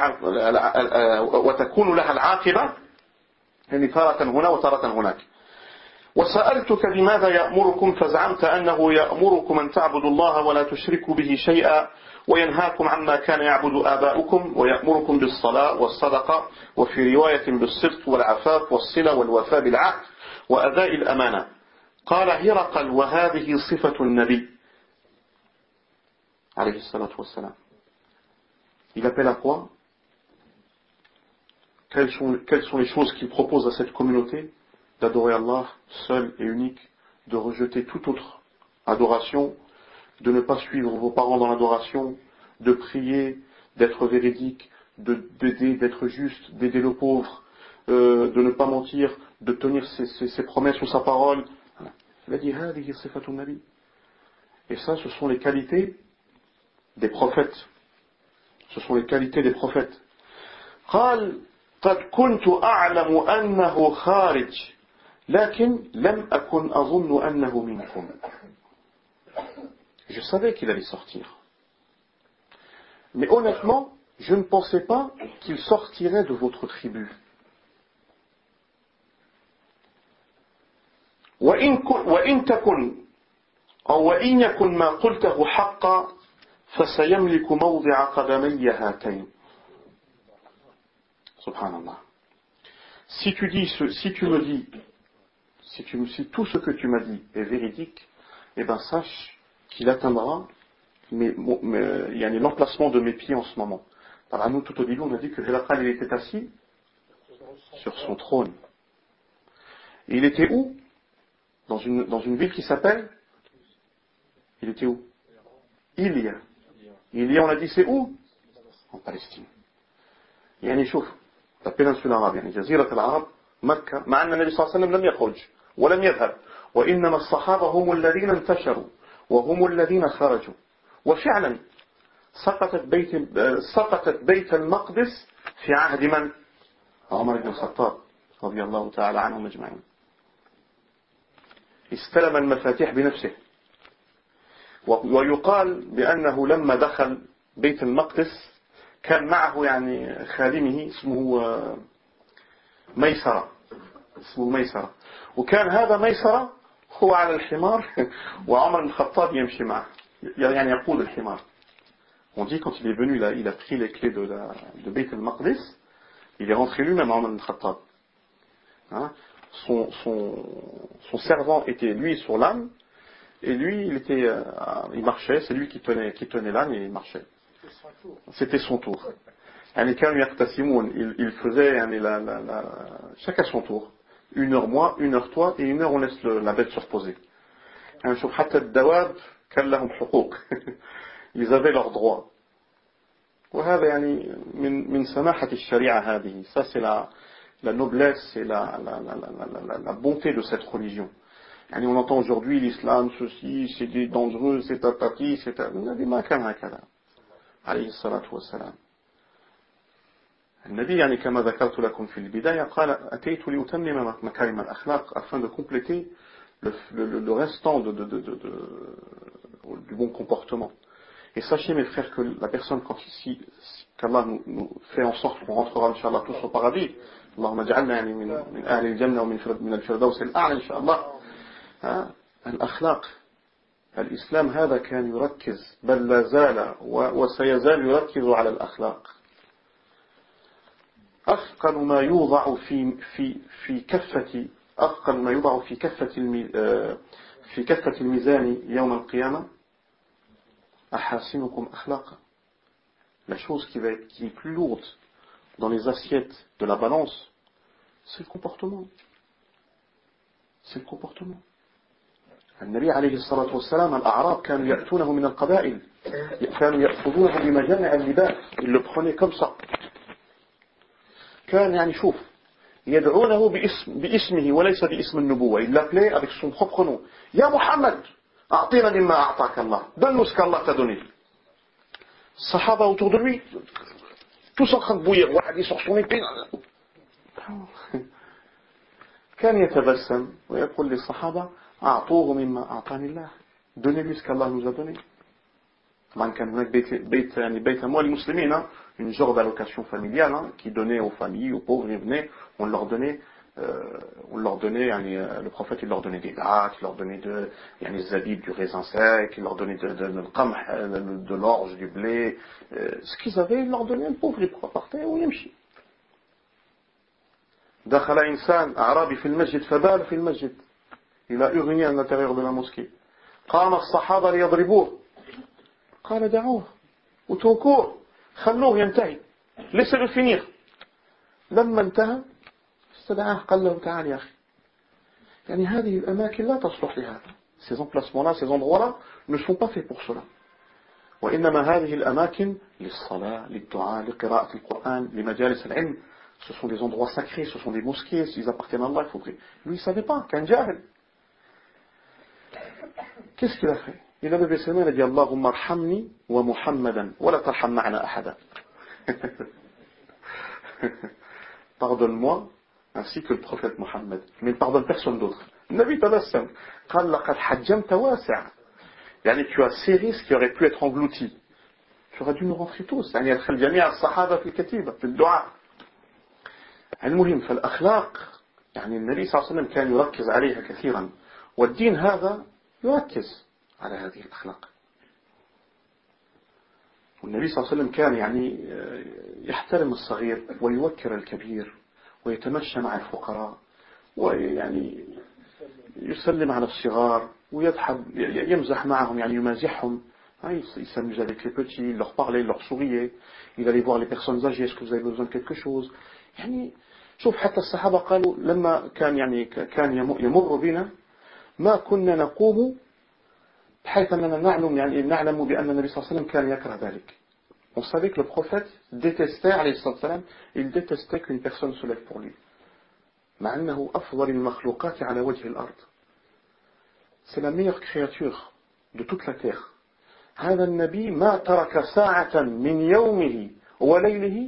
وتكون لها العاقبة تارة هنا وتارة هناك. وسألتك بماذا يأمركم فزعمت أنه يأمركم أن تعبدوا الله ولا تشركوا به شيئا وينهاكم عما كان يعبد آباؤكم ويأمركم بالصلاة والصدقة وفي رواية بالصدق والعفاف والصلة والوفاء بالعهد وأداء الأمانة. قال هرقل وهذه صفة النبي عليه الصلاة والسلام. Il appelle à quoi? Quelles sont les choses qu'il propose à cette communauté? D'adorer Allah seul et unique, de rejeter toute autre adoration, de ne pas suivre vos parents dans l'adoration, de prier, d'être véridique, d'aider, d'être juste, d'aider le pauvre, de ne pas mentir, de tenir ses promesses ou sa parole. Il a dit هذه صفة النبي. Et ça, ce sont les qualités des prophètes. Ce sont les qualités des prophètes. قال قد كنت أعلم أنه خارج لكن لم أكن أظن أنه منكم. Je savais qu'il allait sortir. Mais honnêtement, je ne pensais pas qu'il sortirait de votre tribu. وإن تكن أو وإن يكن ما قلته حقا فسيملك موضع قدمي هاتين. Subhanallah. Si tout ce que tu m'as dit est véridique, eh ben sache qu'il atteindra l'emplacement de mes pieds en ce moment. Par nous, tout au début, on a dit que Hiraqal, il était assis sur son trône. Et il était où? Dans une ville qui s'appelle? Il était où? Ilia. Ilia, on a dit c'est où? En Palestine. شوف la péninsule arabe جزيرة العرب مكة مع أن النبي صلى الله عليه وسلم لم يخرج ولم يذهب وإنما الصحابة هم الذين انتشروا وهم الذين خرجوا وفعلا سقطت بيت المقدس في عهد من؟ عمر بن الخطاب رضي الله تعالى عنهم أجمعين. استلم المفاتيح بنفسه ويقال بأنه لما دخل بيت المقدس كان معه خادمه اسمه ميسرة وكان هذا ميسرة هو على الحمار وعمر بن الخطاب يمشي معه يقود الحمار On dit quand il est venu là, il a pris les clés de Beit al-Maqdis, il est rentré lui-même à Omar ibn Khattab. Hein, son servant était lui sur l'âne, et lui il marchait, c'est lui qui tenait l'âne et il marchait. C'était son tour. Il faisait chacun son tour. 1 heure moi, 1 heure toi, et 1 heure on laisse la bête se reposer. Ils avaient leurs droits. وهذا يعني من سماحة الشريعة هذه. Ça c'est la noblesse et la bonté de cette religion. يعني on entend aujourd'hui l'islam, ceci, c'est dangereux, c'est tatati, c'est النبي ما كان هكذا عليه الصلاة والسلام. النبي يعني كما ذكرت لكم في البداية قال أتيت لأتمم مكارم الأخلاق afin de compléter le restant du bon comportement. Et sachez mes frères que la personne quand ici qu'Allah nous fait en sorte qu'on rentrera Inch'Allah tous au paradis, Allahumma ja'alna yani min ahli al-jannah wa min al-firdaws al-a'la Inch'Allah. الأخلاق الإسلام هذا كان يركز بل لا زال وسيزال يركز على الأخلاق. أثقل ما يوضع في كفة الميزان يوم القيامة أحاسنكم أخلاقا. La chose qui est plus lourde dans les assiettes de la balance, c'est le comportement. C'est le comportement. النبي عليه الصلاة والسلام الأعراب كانوا يأتونه من القبائل كانوا يأخذونه بمجامع اللباس. Ils le prenaient comme ça. كان يعني شوف يدعونه باسمه وليس باسم النبوة. Il l'appelait avec son propre nom. يا محمد أعطينا مما أعطاك الله. Donne-nous ce qu'Allah t'a donné. Sahaba autour de lui, tous en train de bouillir. واحد يسوق son épée. كان يتبسم ويقول للصحابة أعطوه مما أعطاني الله. Donnez-lui ce qu'Allah nous a donné. كان هناك بيت أموال المسلمين, une genre d'allocation familiale qui donnait aux familles, aux pauvres, ils venaient, on leur donnait le prophète il leur donnait des dattes, il leur donnait des zabib du raisin sec, il leur donnait de l'orge, du blé, ce qu'ils avaient, il leur donnait, le pauvre il partait ou يمشي. دخل إنسان أعرابي في المسجد فبال في المسجد. Il a uriner à l'intérieur de la mosquée. قام الصحابة ليضربوه. قال دعوه وتركوه خلوه ينتهي laissez-le finir. لما انتهى استدعاه قال له تعال يا أخي يعني هذه الأماكن لا تصلح لهذا. Ces emplacements-là, ces endroits-là ne sont pas faits pour cela. وإنما هذه الأماكن للصلاة, للدعاء, لقراءة القرآن, لمجالس العلم. Ce sont des endroits sacrés, ce sont des mosquées, s'ils appartiennent à Allah, il faudrait. Lui, il ne savait pas, qu'un jahil. Qu'est-ce qu'il a fait? Il a levé ses mains et a dit Allahumma arhamni wa Muhammadan wa la tarham ma'ana ahada. Pardonne-moi ainsi que le prophète Mohammed, mais ne pardonne personne d'autre. Nabi tabassam قال لقد حجمت واسع. يعني tu as serré ce qui aurait pu être englouti. Tu aurais dû nous rentrer tous. يعني يدخل جميع الصحابة في الكتيبة في الدعاء. المهم فالأخلاق يعني النبي صلى الله عليه وسلم كان يركز عليها كثيرا والدين هذا يركز على هذه الأخلاق. والنبي صلى الله عليه وسلم كان يعني يحترم الصغير ويوكر الكبير ويتمشى مع الفقراء ويعني يسلم على الصغار ويضحك يمزح معهم يعني يمازحهم. Il s'amusait avec les petits, il leur parlait, il leur souriait, il allait voir les personnes âgées, est-ce que vous avez besoin de quelque chose. يعني شوف حتى الصحابة قالوا لما كان يمر بنا ما كنا نقوم بحيث أننا نعلم بأن النبي صلى الله عليه وسلم كان يكره ذلك. On savait que le prophète détestait, alayhi salam, il détestait qu'une personne se lève pour lui. مع أنه أفضل المخلوقات على وجه الأرض. C'est la meilleure créature de toute la terre. هذا النبي ما ترك ساعة من يومه وليله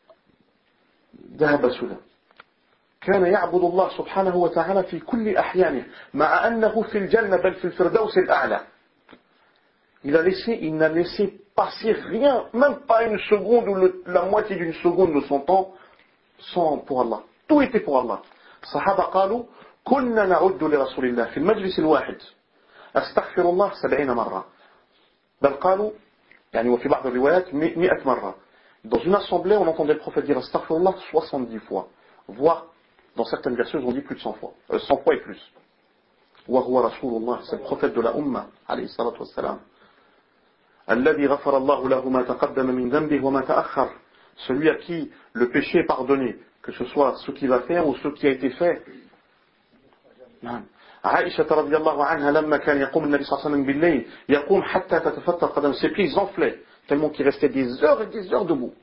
ذهب سدى. كان يعبد الله سبحانه وتعالى في كل أحيانه مع أنه في الجنة بل في الفردوس الأعلى. Il n'a laissé passer rien, même pas une seconde ou la moitié d'une seconde de son temps sans pour Allah. Tout était pour Allah. الصحابة قالوا كنا نعد لرسول الله في المجلس الواحد أستغفر الله 70 مرة. بل قالوا يعني وفي بعض الروايات 100 مرة. Dans une assemblée, on entendait le prophète dire astaghfirullah 70 fois, voire dans certaines versions, on dit plus de 100 fois, 100 fois et plus. وهو رسول الله, c'est le prophète de la Ummah, عليه الصلاة والسلام. الذي غفر الله له ما تقدم من ذنبه وما تأخر, celui à qui le péché est pardonné, que ce soit ce qu'il va faire ou ce qui a été fait. نعم. عائشة رضي الله عنها لما كان يقوم النبي صلى الله عليه وسلم بالليل يقوم حتى تتفتر قدم, ses pieds enflaient tellement qu'il restait des heures et des heures debout.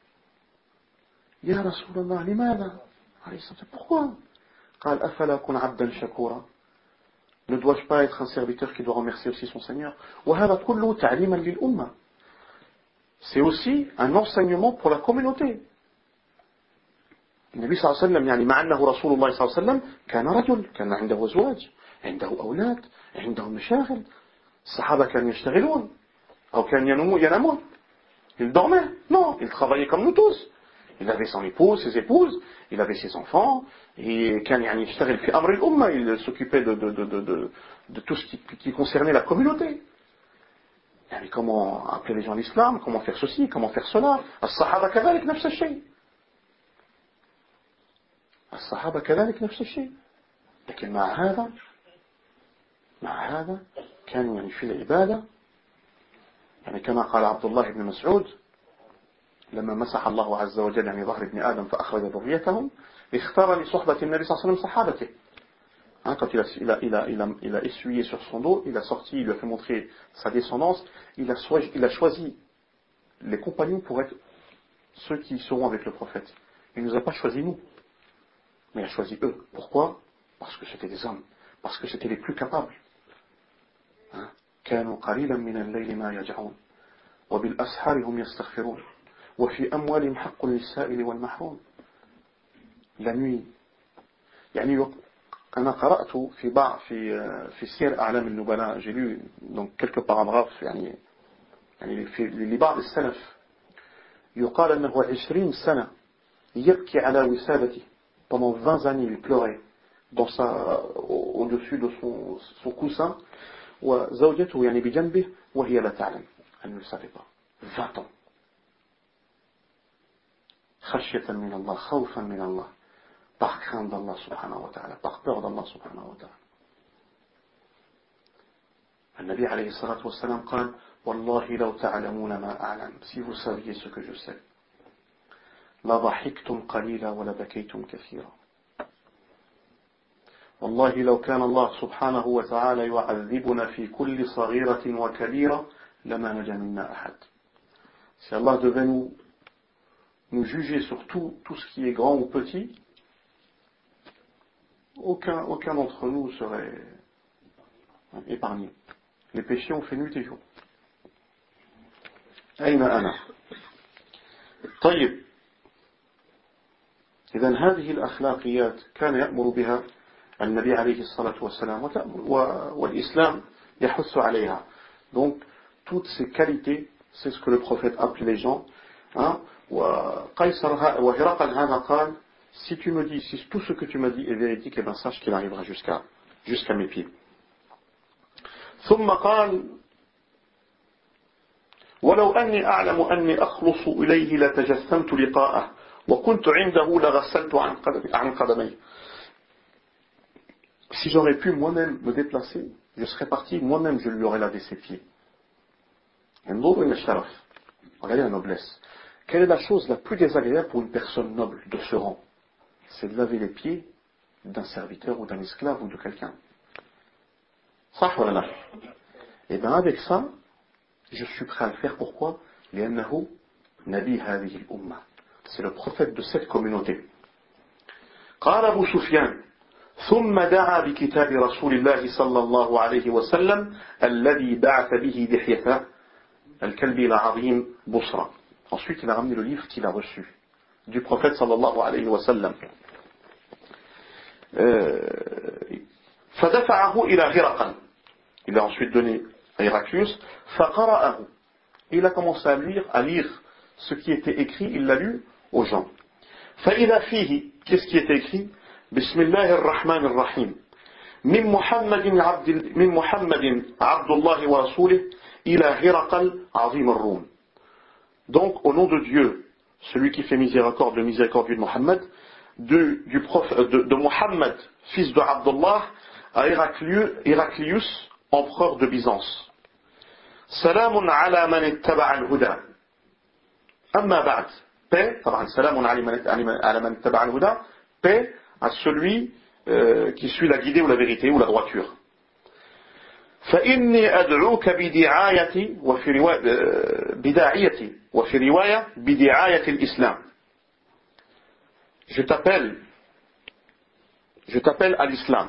يا رسول الله لماذا؟ عليه الصلاة والسلام, pourquoi? قال أفلا أكون عبدا شكورا, ne dois-je pas être un serviteur qui doit remercier aussi son Seigneur? وهذا كله تعليما للأمة, c'est aussi un enseignement pour la communauté. النبي صلى الله عليه وسلم يعني مع أنه رسول الله صلى الله عليه وسلم كان رجل, كان عنده أزواج, عنده أولاد, عنده مشاغل. الصحابة كانوا يشتغلون أو كانوا ينامون. Ils dormaient? Non, ils travaillaient comme nous tous. Il avait son épouse, ses épouses, il avait ses enfants, et كان يعني يشتغل في أمر الأمة, il s'occupait de tout ce qui concernait la communauté. يعني comment appeler les gens à l'islam, comment faire ceci, comment faire cela. الصحابة كذلك نفس الشيء. الصحابة كذلك نفس الشيء. لكن مع هذا كانوا يعني في العبادة, يعني كما قال عبد الله بن مسعود لما مسح الله عز وجل يعني ظهر ابن آدم فأخرج ذريتهم, اختار لصحبة النبي صلى الله عليه وسلم صحابته. Quand il a essuyé sur son dos, il a sorti, il lui a fait montrer sa descendance, il a choisi les compagnons pour être ceux qui seront avec le prophète. Il ne nous a pas choisi nous, mais il a choisi eux. Pourquoi? Parce que c'était des hommes, parce que c'était les plus capables. كانوا قليلا من الليل ما يجعون وبالأسحار هم يستغفرون وفي أموالهم حق للسائل والمحروم. La nuit, يعني أنا قرأت في سير أعلام النبلاء, j'ai lu donc quelques paragraphes يعني في لبعض السلف يقال أنه 20 سنة يبكي على وسادته, pendant 20 années il pleurait au-dessus de son coussin, وزوجته يعني بجنبه وهي لا تعلم, elle ne le savait pas. 20 ans. خشية من الله, خوفا من الله, par crainte d'Allah subhanahu wa ta'ala, par peur d'Allah subhanahu wa ta'ala. النبي عليه الصلاة والسلام قال والله لو تعلمون ما أعلم, si vous saviez ce que je sais, لضحكتم قليلا ولبكيتم كثيرا. والله لو كان الله سبحانه وتعالى يعذبنا في كل صغيرة وكبيرة لما نجا منا أحد. Si Allah devait nous juger sur tout ce qui est grand ou petit, aucun d'entre nous serait épargné. Les péchés ont fait nuit et jour. أين أنا؟ طيب, إذن هذه الأخلاقيات كان يأمر بها النبي عليه الصلاة والسلام والإسلام يحث عليها. Donc toutes ces qualités, c'est ce que le prophète appelait les gens. وهرقل هذا قال, si tu me dis, si tout ce que tu m'as dit est véridique, eh bien sache qu'il arrivera jusqu'à mes pieds. ثم قال ولو أني أعلم أني أخلص إليه لتجسمت لقاءه وكنت عنده لغسلت عن قدميه. Si j'aurais pu moi-même me déplacer, je serais parti, moi-même je lui aurais lavé ses pieds. Regardez la noblesse. Quelle est la chose la plus désagréable pour une personne noble de ce rang? C'est de laver les pieds d'un serviteur ou d'un esclave ou de quelqu'un. صح ولا لا? Et bien avec ça, je suis prêt à le faire. Pourquoi? لأنه نبي هذه الأمة. C'est le prophète de cette communauté. قال أبو سفيان ثم دعا بكتاب رسول الله صلى الله عليه وسلم الذي بعث به دحية الكلب العظيم بصرى. Ensuite, il a ramené le livre qu'il a reçu du prophète sallallahu alayhi wa sallam. فدفعه إلى هرقل. Il a ensuite donné à Héraclius. فقرأه. Il a commencé à lire ce qui était écrit. Il l'a lu aux gens. فإذا فيه, qu'est-ce qui était écrit? بسم الله الرحمن الرحيم من محمد عبد الله ورسوله إلى هرقل عظيم الروم. Donc, au nom de Dieu, celui qui fait miséricorde, le miséricordieux de Mohammed, de Mohammed, fils de Abdullah, à Héraclius, empereur de Byzance. Salamun ala man ittaba al-huda. Amma ba'd. Paix, salamun ala man ittaba al-huda. Paix à celui qui suit la guidée ou la vérité ou la droiture. فإني أدعوك بدعايتي وفي رواية بدعاية الإسلام. Je t'appelle à l'islam.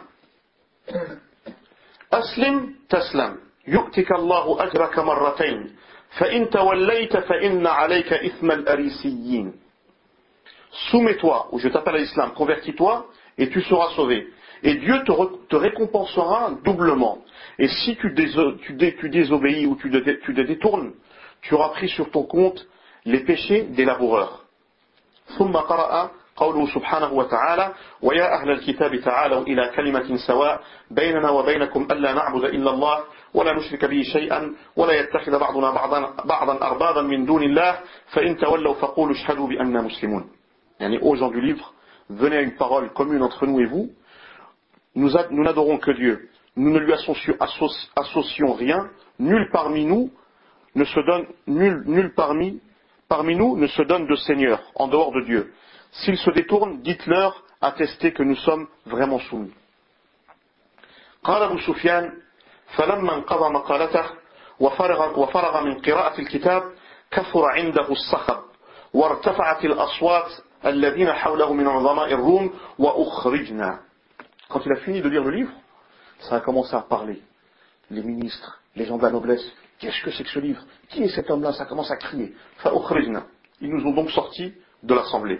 أسلم تسلم يؤتك الله أجرك مرتين فإن توليت فإن عليك إثم الأريسيين. Soumets-toi, ou je t'appelle à l'islam, convertis-toi et tu seras sauvé. Et Dieu te récompensera doublement. Et si tu désobéis ou tu te détournes, tu auras pris sur ton compte les péchés des laboureurs. ثم قرأ قوله سبحانه وتعالى ويا أهل الكتاب تعالوا إلى كلمة سواء بيننا وبينكم ألا نعبد إلا الله ولا نشرك به شيئا ولا يتخذ بعضنا بعضا أربابا من دون الله فإن تولوا فقولوا اشهدوا بأننا مسلمون. يعني aux gens du livre, venez à une parole commune entre nous et vous. Nous n'adorons que Dieu. Nous ne lui associons rien. Nul parmi nous ne se donne de Seigneur en dehors de Dieu. S'ils se détournent, dites-leur, attestez que nous sommes vraiment soumis. قال أبو سفيان فلما انقضى مقالته وفرغ من قراءة الكتاب كثر عنده الصخب وارتفعت الأصوات الذين حوله من عظماء الروم وأخرجنا. Quand il a fini de lire le livre, ça a commencé à parler. Les ministres, les gens de la noblesse, qu'est-ce que c'est que ce livre? Qui est cet homme-là? Ça commence à crier. Ils nous ont donc sortis de l'assemblée.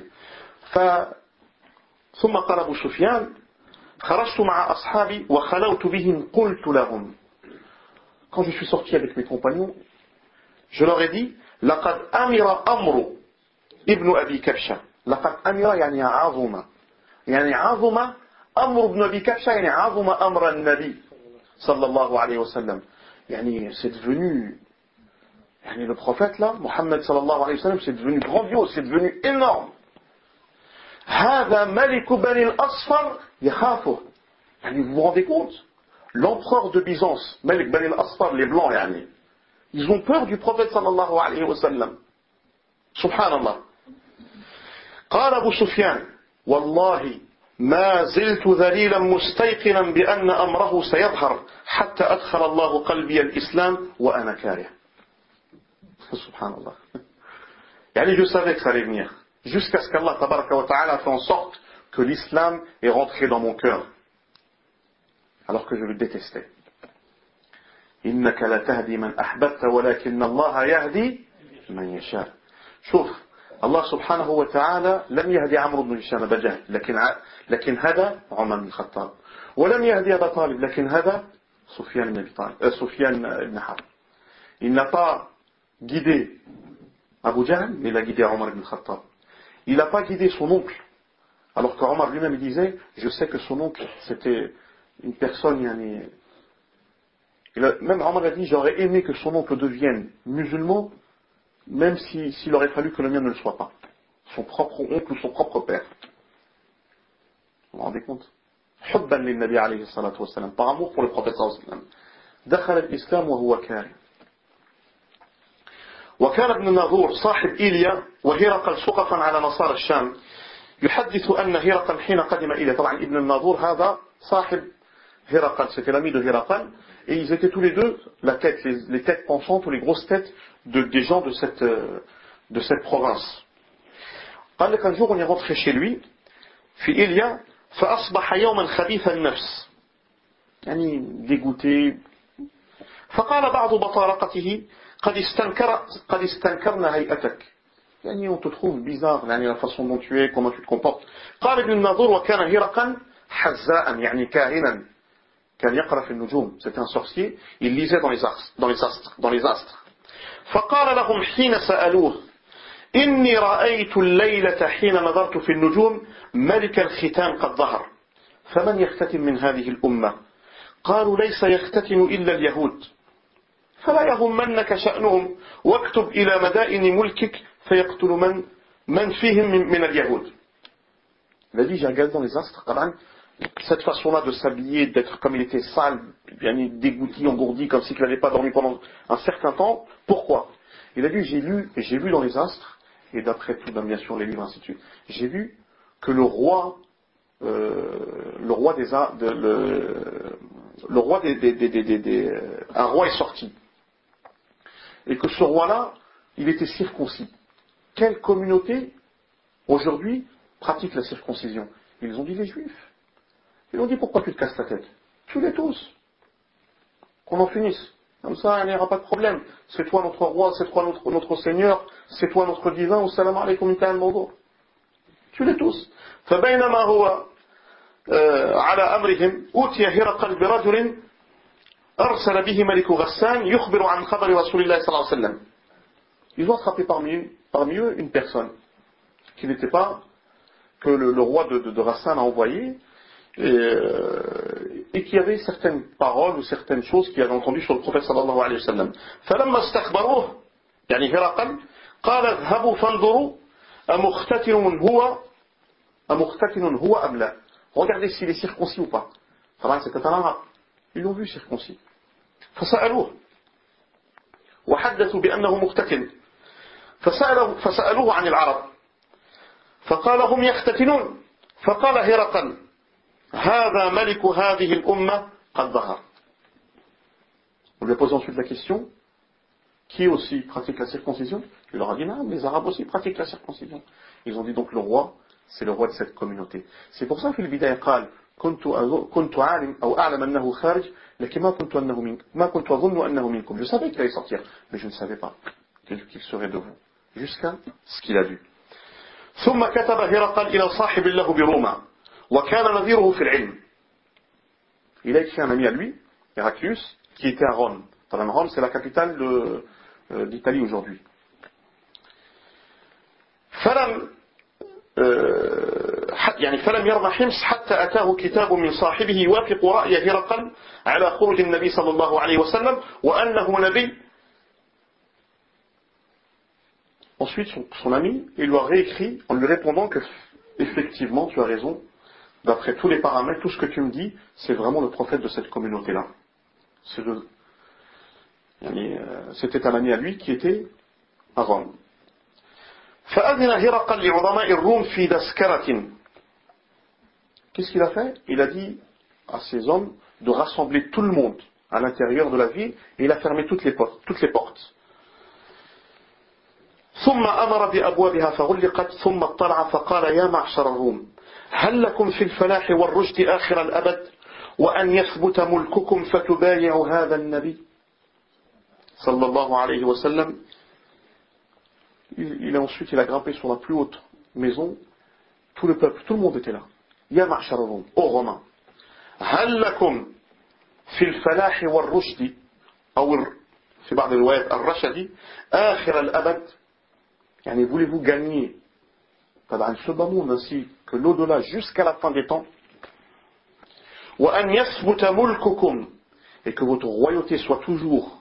ثم قال أبو سفيان خرجت مع أصحابي وخلوت بهم قلت لهم. Quand je suis sorti avec mes compagnons, je leur ai dit لقد أمر أمر ابن أبي كبشة. لقد أمر يعني عظم. يعني عظم أمر ابن أبي كبشة يعني عظم أمر النبي صلى الله عليه وسلم. يعني c'est devenu, يعني le prophète là, Mohammed صلى الله عليه وسلم, c'est devenu grandiose, c'est devenu énorme. هذا ملك بني الأصفر يخافه. يعني vous vous rendez compte, l'empereur de Byzance, Malik Bani al-Asfar, les blancs, يعني, ils ont peur du prophète صلى الله عليه وسلم. Subhanallah. قال أبو سفيان والله ما زلت ذليلا مستيقنا بأن أمره سيظهر حتى أدخل الله قلبي الإسلام وأنا كاره. سبحان الله. يعني je savais que ça allait venir jusqu'à ce qu'Allah tabaraka wa ta'ala fait en sorte que l'islam est rentré dans mon cœur alors que je le détestais. إنك لا تهدي من أحببت ولكن الله يهدي من يشاء. شوف الله سبحانه وتعالى لم يهدي عمرو بن هشام أبا جهل لكن هدى عمر بن الخطاب ولم يهدي أبا طالب لكن هدى سفيان بن حرب. Il n'a pas guidé Abu Jahl, mais il a guidé Omar ibn Khattab. Il n'a pas guidé son oncle, alors qu'Omar lui-même il disait, je sais que son oncle c'était une personne, même Omar a dit, j'aurais aimé que son oncle devienne musulman, même s'il aurait fallu que le mien ne le soit pas. Son propre oncle ou son propre père. Vous vous rendez compte? حبا للنبي عليه الصلاة والسلام, par amour pour le prophète صلى الله عليه وسلم. دخل الإسلام وهو كاره. وكان ابن الناظور صاحب إيليا وهرقل سقفا على نصارى الشام يحدث أن هرقل حين قدم إيليا. طبعا ابن الناظور هذا صاحب هرقل, c'était l'ami de Héraclius, et ils étaient tous les deux les têtes pensantes ou les grosses têtes des gens de cette province. قال لك un jour on est rentré chez lui في إيليا فأصبح يوما خبيث النفس, يعني dégoûté. فقال بعض بطارقته قد استنكرنا هيئتك, يعني on te trouve bizarre, يعني la façon dont tu es, comment tu te comportes. قال ابن الناظور وكان هرقل حزاء يعني كاهنا كان يقرأ في النجوم, c'était un sorcier, il lisait dans les astres. فقال لهم حين سألوه إني رأيت الليلة حين نظرت في النجوم ملك الختان قد ظهر فمن يختتم من هذه الأمة قالوا ليس يختتن إلا اليهود فلا يهمنك شأنهم واكتب إلى مدائن ملكك فيقتل من فيهم من اليهود. Il a dit, j'ai regardé dans les astres, cette façon-là de s'habiller, d'être comme il était sale, bien dégoûté, engourdi, comme s'il n'avait pas dormi pendant un certain temps. Pourquoi? Il a dit, j'ai lu dans les astres, et d'après tout, bien sûr, les livres, ainsi de suite, j'ai vu que un roi est sorti. Et que ce roi-là, il était circoncis. Quelle communauté, aujourd'hui, pratique la circoncision? Ils ont dit les Juifs. Ils ont dit, pourquoi tu te casses la tête? Tue-les tous. Qu'on en finisse. Comme ça, il n'y aura pas de problème. C'est toi notre roi, c'est toi notre Seigneur, c'est toi notre divin, au salam alaykum ta'al mawdu'. Tue-les tous. فبينما هو على أمرهم أوتي هرقل برجل أرسل به ملك غسان يخبر عن خبر رسول الله صلى الله عليه وسلم. Ils ont attrapé parmi eux une personne qui n'était pas, que le roi de Ghassan a envoyé, et qui avait certaines paroles ou certaines choses qu'il avait entendues sur le prophète sallallahu alayhi wa sallam. فلما استخبروه يعني هرقل قال اذهبوا فانظروا أمختتن هو أم لا. Regardez s'il est circoncis ou pas. C'était un arabe. Ils l'ont vu circoncis. فسألوه وحدثوا بأنه مختتن فسألوه عن العرب فقال هم يختتنون فقال هرقل هذا ملك هذه الأمة قد ظهر. On lui a posé ensuite la question, qui aussi pratique la circoncision? Il leur a dit non, les Arabes aussi pratiquent la circoncision. Ils ont dit donc le roi, c'est le roi de cette communauté. C'est pour ça que le bidaya قال كنت عالم أو أعلم أنه خارج لكن ما كنت أظن أنه منكم. Je savais qu'il allait sortir, mais je ne savais pas qu'il serait de vous. Jusqu'à ce qu'il a vu. ثم كتب هرقل إلى صاحب له بروما وكان نظيره في العلم. Il a écrit un ami à lui, Héraclius, qui était à Rome. Rome, c'est la capitale d'Italie aujourd'hui. فلم يرضى حمص حتى أتاه كتاب من صاحبه يوافق رأي هرقل على خروج النبي صلى الله عليه وسلم وأنه نبي. Ensuite, son ami, il lui a réécrit en lui répondant que, effectivement, tu as raison, d'après tous les paramètres, tout ce que tu me dis, c'est vraiment le prophète de cette communauté-là. C'était un ami à lui qui était à Rome. فأذن هرقل لعظماء الروم في دسكرة. Qu'est-ce qu'il a fait? Il a dit à ses hommes de rassembler tout le monde à l'intérieur de la ville et il a fermé toutes les portes. ثم أمر بأبوابها فغلقت ثم اطلع فقال يا معشر الروم هل لكم في الفلاح والرشد آخر الأبد وأن يثبت ملككم فتبايعوا هذا النبي صلى الله عليه وسلم. Il a grimpé sur la plus haute maison. Tout le peuple, tout le monde était là. يا معشر الروم, aux Romains, هل لكم في الفلاح والرشد أو في بعض الروايات الرشد آخر الأبد. Yani, voulez-vous gagner dans ce bas monde ainsi que l'au-delà jusqu'à la fin des temps, وأن يثبت ملككم, et que votre royauté soit toujours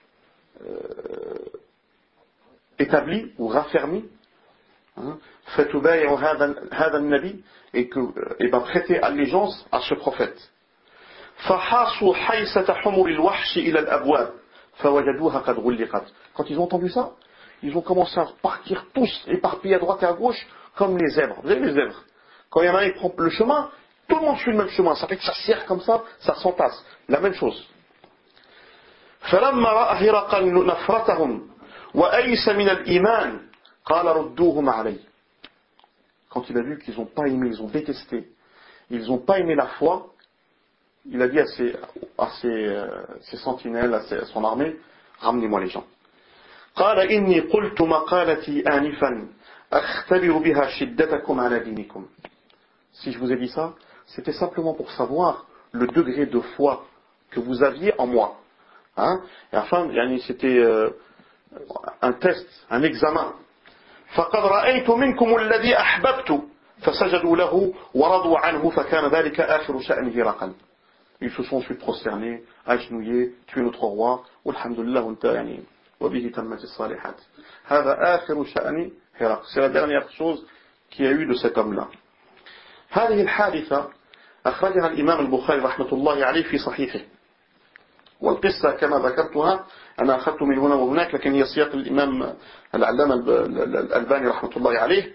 établie ou raffermie, فتبايعوا هذا النبي, et que prêtez allégeance à ce prophète. فحاصوا حيسة حمر الوحش إلى الأبواب فوجدوها قد غلقت. Quand ils ont entendu ça, ils ont commencé à partir tous, éparpillés à droite et à gauche, comme les zèbres. Vous savez les zèbres? Quand il y en a un qui prend le chemin, tout le monde suit le même chemin. Ça fait que ça serre comme ça s'entasse. La même chose. فلما رأى هرقل نفرتهم وأيس من الإيمان قال ردوهم علي. Quand il a vu qu'ils n'ont pas aimé, ils ont détesté, ils n'ont pas aimé la foi, il a dit à ses sentinelles, à son armée, ramenez-moi les gens. قال إني قلت مقالتي آنفا أختبر بها شدتكم على دينكم. Si je vous ai dit ça, c'était simplement pour savoir le degré de foi que vous aviez en moi. Et enfin, c'était un test, un examen. فقد رأيت منكم الذي أحببت فسجدوا له ورضوا عنه فكان ذلك آخر شأن هرقل. Ils se sont ensuite prosternés, agenouillés, tués notre roi, walhamdulillah, وبه تمت الصالحات. هذا آخر شأن هرقل. C'est la dernière chose qu'il y a eu de cet homme-là. هذه الحادثة أخرجها الإمام البخاري رحمة الله عليه في صحيحه. والقصة كما ذكرتها أنا أخذت من هنا وهناك، لكن هي سياق الإمام العلامة الألباني رحمة الله عليه.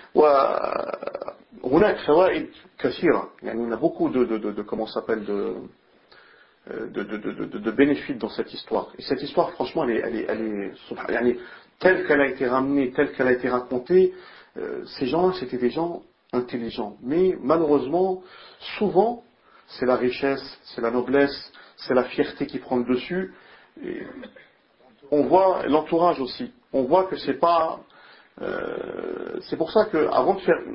وهناك فوائد كثيرة، يعني on a beaucoup de comment s'appelle de bénéfices dans cette histoire. Et cette histoire, franchement, elle est telle qu'elle a été ramenée, telle qu'elle a été racontée. Ces gens-là, c'était des gens intelligents. Mais malheureusement, souvent, c'est la richesse, c'est la noblesse, c'est la fierté qui prend le dessus. Et on voit l'entourage aussi. On voit que c'est pas. C'est pour ça que avant de faire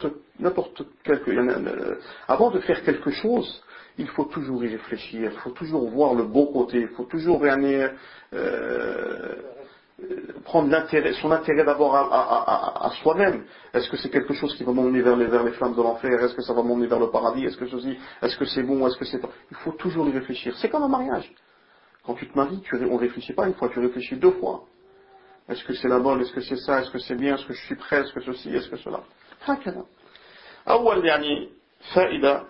avant de faire quelque chose, il faut toujours y réfléchir, il faut toujours voir le bon côté, il faut toujours prendre son intérêt d'abord à soi-même. Est-ce que c'est quelque chose qui va m'emmener vers les flammes de l'enfer? Est-ce que ça va m'emmener vers le paradis? Est-ce que c'est bon? Est-ce que c'est pas? Il faut toujours y réfléchir. C'est comme un mariage. Quand tu te maries, on ne réfléchit pas une fois, tu réfléchis deux fois. Est-ce que c'est la bonne? Est-ce que c'est ça? Est-ce que c'est bien? Est-ce que je suis prêt? Est-ce que ceci? Est-ce que cela? هكذا. أول فائدة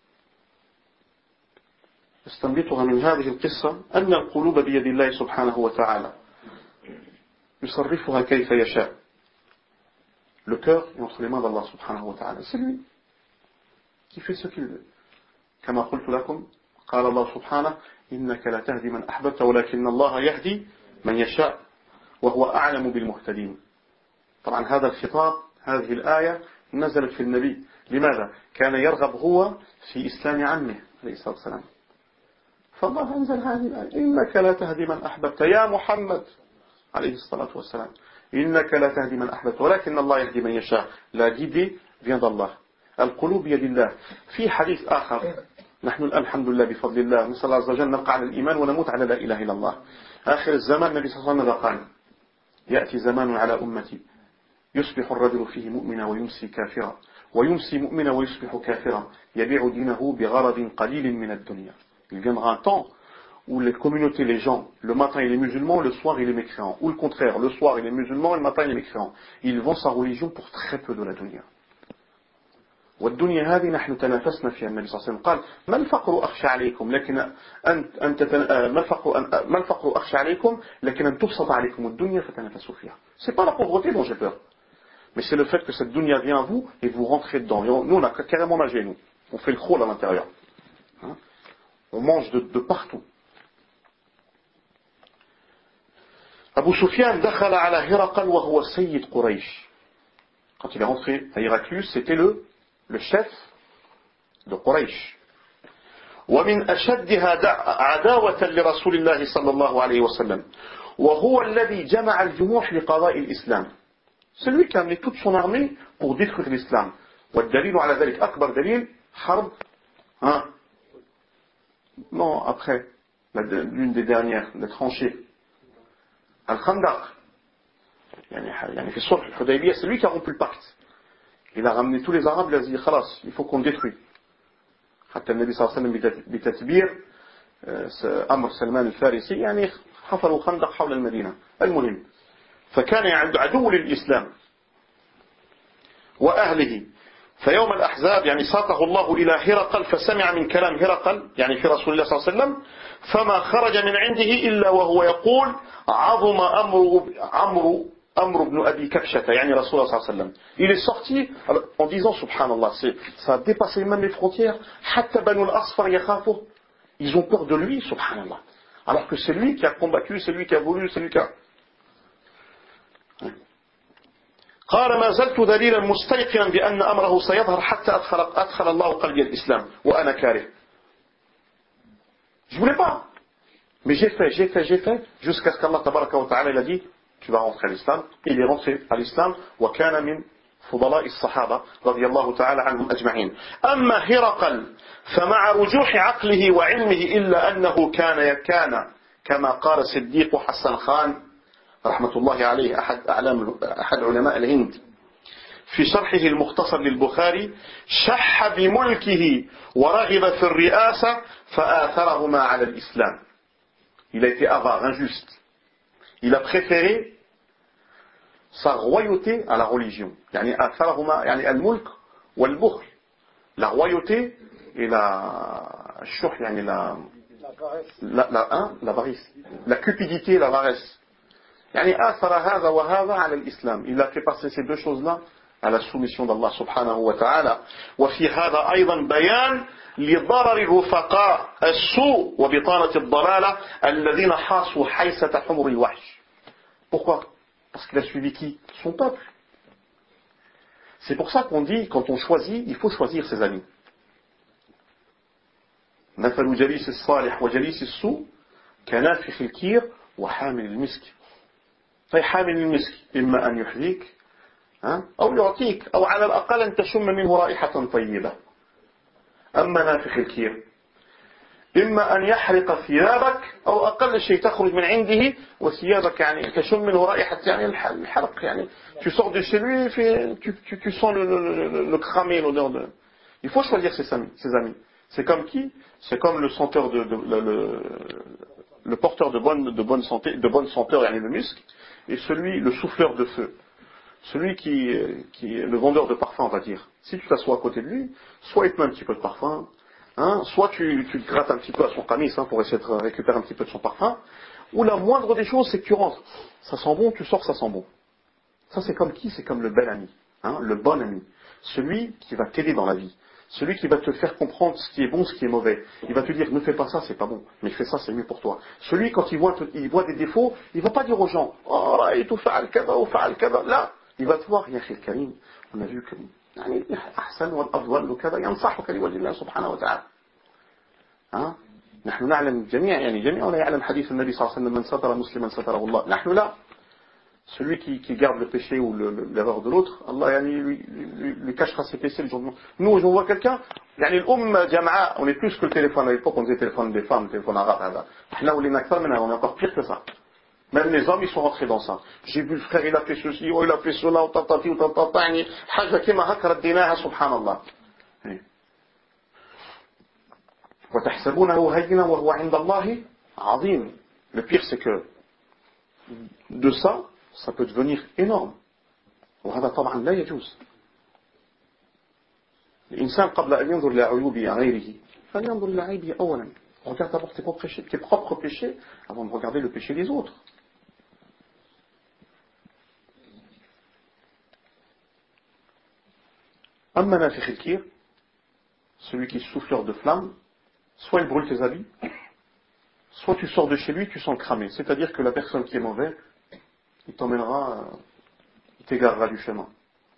استنبطها من هذه القصة أن القلوب بيد الله سبحانه وتعالى يصرفها كيف يشاء. Le cœur est entre les mains d'Allah subhanahu wa ta'ala. C'est lui qui fait ce qu'il veut. كما قلت لكم قال الله سبحانه إنك لا تهدي من أحببت ولكن الله يهدي من يشاء وهو أعلم بالمهتدين. طبعا هذا الخطاب، هذه الآية نزلت في النبي. لماذا؟ كان يرغب هو في إسلام عمه عليه الصلاة والسلام. فالله أنزل هذه الآية إنك لا تهدي من أحببت يا محمد عليه الصلاة والسلام. إنك لا تهدي من أحببت ولكن الله يهدي من يشاء. La guidée vient d'Allah. القلوب بيد الله. في حديث آخر نحن الآن الحمد لله بفضل الله نسأل الله عز وجل نبقى على الإيمان ونموت على لا إله إلا الله. آخر الزمان النبي صلى الله عليه وسلم قال يأتي زمان على أمتي يصبح الرجل فيه مؤمنا ويمسي كافرا ويمسي مؤمنا ويصبح كافرا يبيع دينه بغرض قليل من الدنيا. Il viendra un temps où les communautés, les gens, le matin il est musulman, le soir il est mécréant, ou le contraire, le soir il est musulman et le matin il est mécréant. Ils vendent sa religion pour très peu de la dunya. والدنيا هذه نحن تنافسنا فيها. النبي صلى الله عليه وسلم قال ما الفقر أخشى عليكم لكن ما الفقر أخشى عليكم لكن أن تبسط عليكم الدنيا فتنافسوا فيها. C'est pas la pauvreté dont j'ai peur, mais c'est le fait que cette dunya vient à vous et vous rentrez dedans. Et nous on a carrément nagé, nous. On fait le crawl à l'intérieur. On mange de partout. Abu Sufyan دخل على هرقل وهو سيد قريش. Quand il est rentré à Héraclius, c'était le chef de Quraysh. ومن أشدها عداوة لرسول الله صلى الله عليه وسلم وهو الذي جمع الجموح لقضاء الإسلام. C'est lui qui a amené toute son armée pour détruire l'islam. والدليل على ذلك أكبر دليل حرب non après l'une des dernières, les tranchées, Al-Khandaq. يعني في الصلح الحديبية, c'est lui qui a rompu le pacte. Il a ramené tous les Arabes, il a dit خلاص, il faut qu'on détruit. حتى النبي صلى الله عليه وسلم بتتبير أمر سلمان الفارسي يعني حفروا خندق حول المدينة. المهم فكان عدو للإسلام وأهله. فيوم الأحزاب يعني ساقه الله إلى هرقل فسمع من كلام هرقل يعني في رسول الله صلى الله عليه وسلم فما خرج من عنده إلا وهو يقول عظم أمر بن أبي كبشة يعني رسول الله صلى الله عليه وسلم. Il est sorti en disant subhanallah, ça a dépassé même les frontières. حتى بنو الأصفر يخافوا, ils ont peur de lui, subhanallah, alors que c'est lui qui a combattu, c'est lui qui a voulu, c'est lui qui a... قال ما زلت ذليلا مستيقنا بأن أمره سيظهر حتى أدخل الله قلبي الإسلام وأنا كاره. Je voulais pas, mais j'ai fait jusqu'à ce qu'Allah tabaraka wa ta'ala il a dit tu vas rentrer à l'islam. Il est rentré à l'islam. وكان من فضلاء الصحابة رضي الله تعالى عنهم أجمعين. أما هرقل فمع رجوح عقله وعلمه إلا أنه كان كما قال صديق حسن خان رحمة الله عليه أحد علماء الهند في شرحه المختصر للبخاري شح بملكه ورغب في الرئاسة فآثرهما على الإسلام. Il a été avare, injuste. Il a préféré sa royauté à la religion. يعني آثرهما يعني الملك والبخل. La royauté et la الشح يعني l'avarice. La cupidité et l'avarice. يعني آثر هذا وهذا على الإسلام. Il a fait passer ces deux choses-là à la soumission d'Allah subhanahu wa ta'ala. وفي هذا أيضا بيان لضرر الرفقاء السوء وبطانة الضلالة الذين حاصوا حيسة حمر الوحش. Pourquoi? Parce qu'il a suivi qui? Son peuple. C'est pour ça qu'on dit, quand on choisit, il faut choisir ses amis. مثل جليس الصالح وجليس السوء كنافخ الكير وحامل المسك. فحامل المسك إما أن يحذيك أو يعطيك أو على الأقل أن تشم منه رائحة طيبة. أما نافخ الكير إما أن يحرق ثيابك أو أقل شيء تخرج من عنده وثيابك يعني تشم منه رائحة يعني الحرق يعني tu sors de chez lui tu sens le cramer l'odeur de. Il faut choisir ses amis. C'est comme qui? C'est comme le senteur le porteur de bonne santé, de bonne senteur yani le musc, et celui le souffleur de feu. Celui qui est le vendeur de parfum, on va dire. Si tu t'assois à côté de lui, soit il te met un petit peu de parfum, soit tu te grattes un petit peu à son camis pour essayer de récupérer un petit peu de son parfum, ou la moindre des choses, c'est que tu rentres. Ça sent bon, tu sors, ça sent bon. Ça, c'est comme qui? C'est comme le bel ami, le bon ami. Celui qui va t'aider dans la vie. Celui qui va te faire comprendre ce qui est bon, ce qui est mauvais. Il va te dire, ne fais pas ça, c'est pas bon, mais fais ça, c'est mieux pour toi. Celui, quand il voit des défauts, il va pas dire aux gens, oh, tu fa'al kada ou fa'al kada. Là, il va te voir, ya khil karim, on a vu que يعني أحسن والأفضل وكذا ينصحك لوجه الله سبحانه وتعالى. نحن نعلم جميعنا يعلم حديث النبي صلى الله عليه وسلم من ستر مسلما ستره الله. نحن لا. Celui qui garde le péché ou l'erreur de l'autre, Allah lui cachera ses péchés le jour de. Nous, on voit quelqu'un, on est plus que le téléphone. À l'époque, on disait téléphone des femmes, téléphone arabe. Là où les nakfar, on est encore pire que ça. Même les hommes, ils sont rentrés dans ça. J'ai vu le frère, il a fait ceci, il a fait cela, ou tatati, ou tatatani. Haja kima hakra dinaha, subhanallah. وتحسبونه هينا وهو عند الله عظيم. Le pire, c'est que de ça peut devenir énorme. وهذا طبعا لا يجوز. الإنسان قبل أن ينظر إلى عيوب غيره فلينظر إلى عيبه أولا. Regarde d'abord tes propres péchés avant de regarder le péché des autres. أما نافخ الكير, celui qui est souffleur de flamme, soit il brûle tes habits, soit tu sors de chez lui, tu sens le cramer. C'est-à-dire que la personne qui est mauvaise, il t'emmènera, il t'égarera du chemin.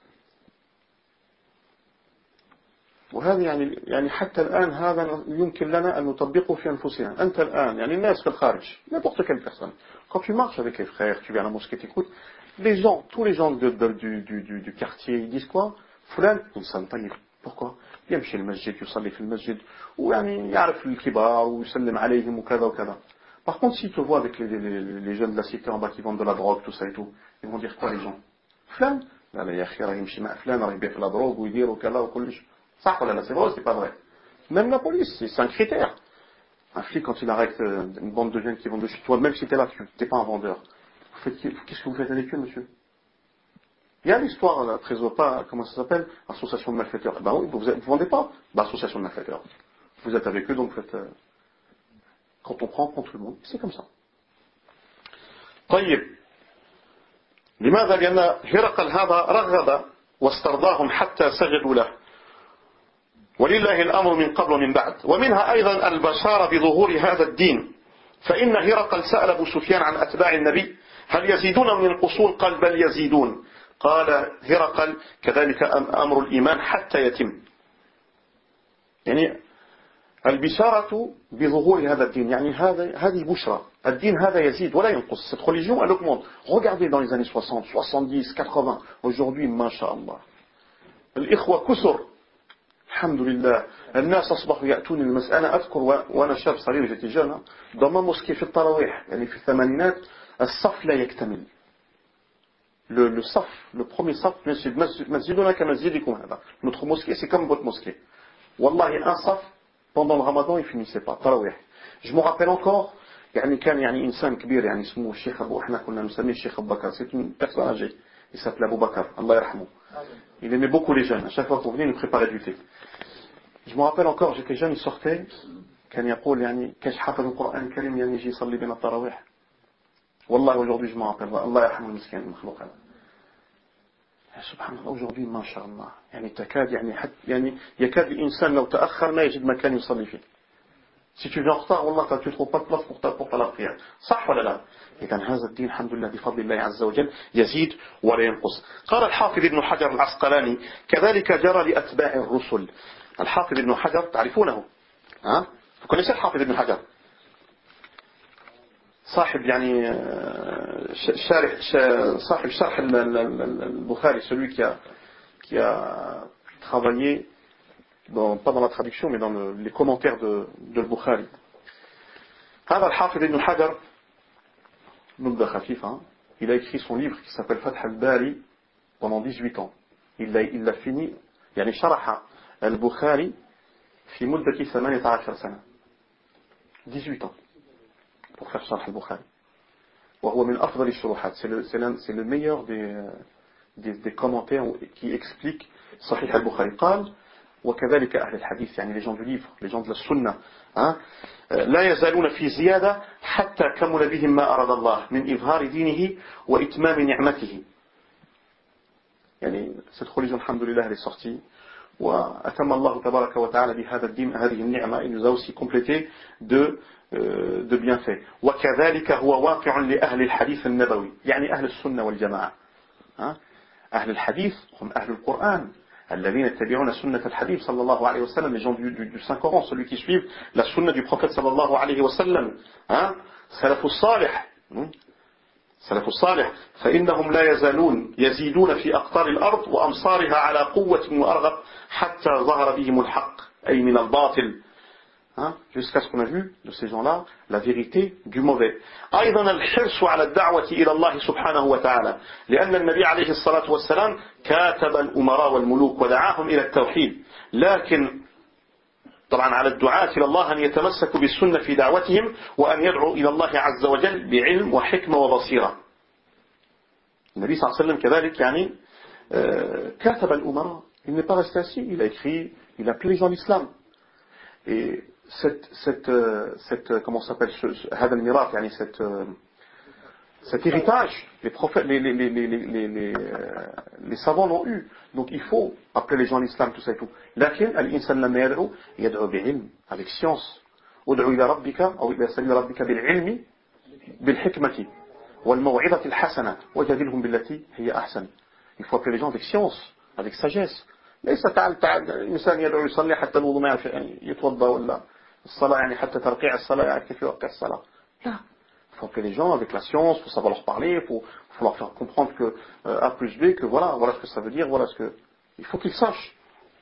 وهذا يعني حتى الآن هذا يمكن لنا أن نطبقه في أنفسنا. أنت الآن يعني الناس في الخارج, n'importe quelle personne. Quand tu marches avec les frères, tu viens à la mosquée, t'écoutes, tous les gens du quartier, ils disent quoi? فلان إنسان طيب. Pourquoi? يمشي المسجد, يصلي في المسجد, ويعني يعرف الكبار ويسلم عليهم وكذا وكذا. Par contre, s'ils te voient avec les jeunes de la cité en bas qui vendent de la drogue, tout ça et tout, ils vont dire quoi les gens? فلان لا يا أخي راه يمشي مع فلان راه يبيع في لا drogue ويدير وكذا وكلش. صح ولا لا? C'est vrai ou c'est pas vrai? Même la police, c'est un critère. Un flic, quand il arrête une bande de jeunes qui vendent de chez toi, même si tu es là, tu n'es pas un vendeur. Qu'est-ce que vous faites avec eux, monsieur? Il y a l'histoire, la trésor pas, comment ça s'appelle? Association de malfaiteurs. Ben oui, vous ne vendez pas? Ben, association de malfaiteurs. Vous êtes avec eux, donc vous faites. Quand on prend tout le monde. C'est comme ça. طيب. لماذا؟ لأن هرقل هذا رغب واسترضاهم حتى سجدوا له. ولله الأمر من قبل ومن بعد. ومنها أيضا البشارة بظهور هذا الدين. فإن هرقل سأل أبو سفيان عن أتباع النبي هل يزيدون من القصور؟ قال بل يزيدون. قال هرقل كذلك أمر الإيمان حتى يتم. يعني البشارة بظهور هذا الدين, يعني هذه بشرى. الدين هذا يزيد ولا ينقص. Cette religion, elle augmente. Regardez dans les années 60, 70, 80. Aujourd'hui, ما شاء الله. الإخوة كثر. الحمد لله. الناس أصبحوا يأتون المسألة. أنا أذكر وأنا شاب صغير جيت جانا ضمن موسكي في التراويح, يعني في الثمانينات الصف لا يكتمل. le saf, le premier saf, notre mosquée, c'est comme votre mosquée. Wallahi, un saf, pendant le ramadan, il finissait pas. Tarawih. Je me rappelle encore, كان إنسان كبير اسمه الشيخ أبو إحنا كنا نسميه الشيخ أبو بكر. C'est une personne âgée. Il s'appelait Abu Bakr. Allah yarhamou. Il aimait beaucoup les jeunes. À chaque fois qu'on venait, il nous préparait du thé. Je me rappelle encore, j'étais jeune, il sortait. كان يقول كاش حافظ القرآن الكريم يجي يصلي بين التراويح. والله aujourd'hui je me rappelle. الله يرحمه المسكين المخلوق هذا. سبحان الله aujourd'hui ما شاء الله تكاد يكاد الإنسان لو تأخر ما يجد مكان يصلي فيه. Si tu viens en retard, والله tu ne trouves pas de place pour la prière. صح ولا لا؟ إذا هذا الدين الحمد لله بفضل الله عز وجل يزيد ولا ينقص. قال الحافظ ابن حجر العسقلاني كذلك جرى لأتباع الرسل. الحافظ ابن حجر تعرفونه؟ ها؟ Vous connaissez الحافظ ابن حجر؟ صاحب صاحب شرح البخاري, celui qui a travaillé pas dans la traduction mais dans les commentaires de البخاري. هذا الحافظ ابن حجر نبذة خفيفة. Il a écrit son livre qui s'appelle Fath al-Bari pendant 18 ans. Il l'a fini شرح البخاري في مدة 18 سنة. 18 ans pour faire شرح البخاري. وهو من أفضل الشروحات. C'est le meilleur des commentaires qui expliquent صحيح البخاري. قال وكذلك أهل الحديث les gens du livre, les gens de la sunna, لا يزالون في زيادة حتى كمل بهم ما أراد الله من إظهار دينه وإتمام نعمته. cette religion الحمد لله elle est sortie وأتم الله تبارك وتعالى بهذا الدين هذه النعمة. Il nous a aussi complété de bienfaits. وكذلك هو واقع لأهل الحديث النبوي أهل السنة والجماعة. أهل الحديث هم أهل القرآن الذين يتبعون سنة الحبيب صلى الله عليه وسلم, les gens du Saint-Coran, celui qui suivent la sunna du prophète صلى الله عليه وسلم. سلف الصالح فإنهم لا يزالون يزيدون في أقطار الأرض وأمصارها على قوة وأرغب حتى ظهر بهم الحق أي من الباطل. Jusqu'à ce qu'on a vu de ces gens-là la vérité du mauvais. أيضا الحرص على الدعوة إلى الله سبحانه وتعالى لأن النبي عليه الصلاة والسلام كاتب الأمراء والملوك ودعاهم إلى التوحيد. لكن طبعا على الدعاة إلى الله أن يتمسكوا بالسنة في دعوتهم وأن يدعوا إلى الله عز وجل بعلم وحكمة وبصيرة. النبي صلى الله عليه وسلم كذلك كاتب الأمراء. Il n'est pas resté assis, il a écrit, il a appelé les gens à l'islam. Et comment ça s'appelle, هذا الميراث cet héritage, les prophètes, les savants l'ont eu. Donc il faut appeler les gens à l'islam, tout ça et tout. لكن الإنسان لما يدعو بعلم, avec science. ادعو إلى ربك أو إلى سبيل ربك بالعلم بالحكمة والموعظة الحسنة وجادلهم بالتي هي أحسن. Il faut appeler les gens avec science, avec sagesse. ليس تعال الإنسان يدعو يصلي حتى الوضوء ما يعرف يتوضأ ولا الصلاة حتى ترقيع الصلاة يعرف كيف يوقع الصلاة. لا. Il faut appeler les gens avec la science, il faut savoir leur parler, il faut leur faire comprendre que A plus B, que voilà ce que ça veut dire, voilà ce que... Il faut qu'ils sachent.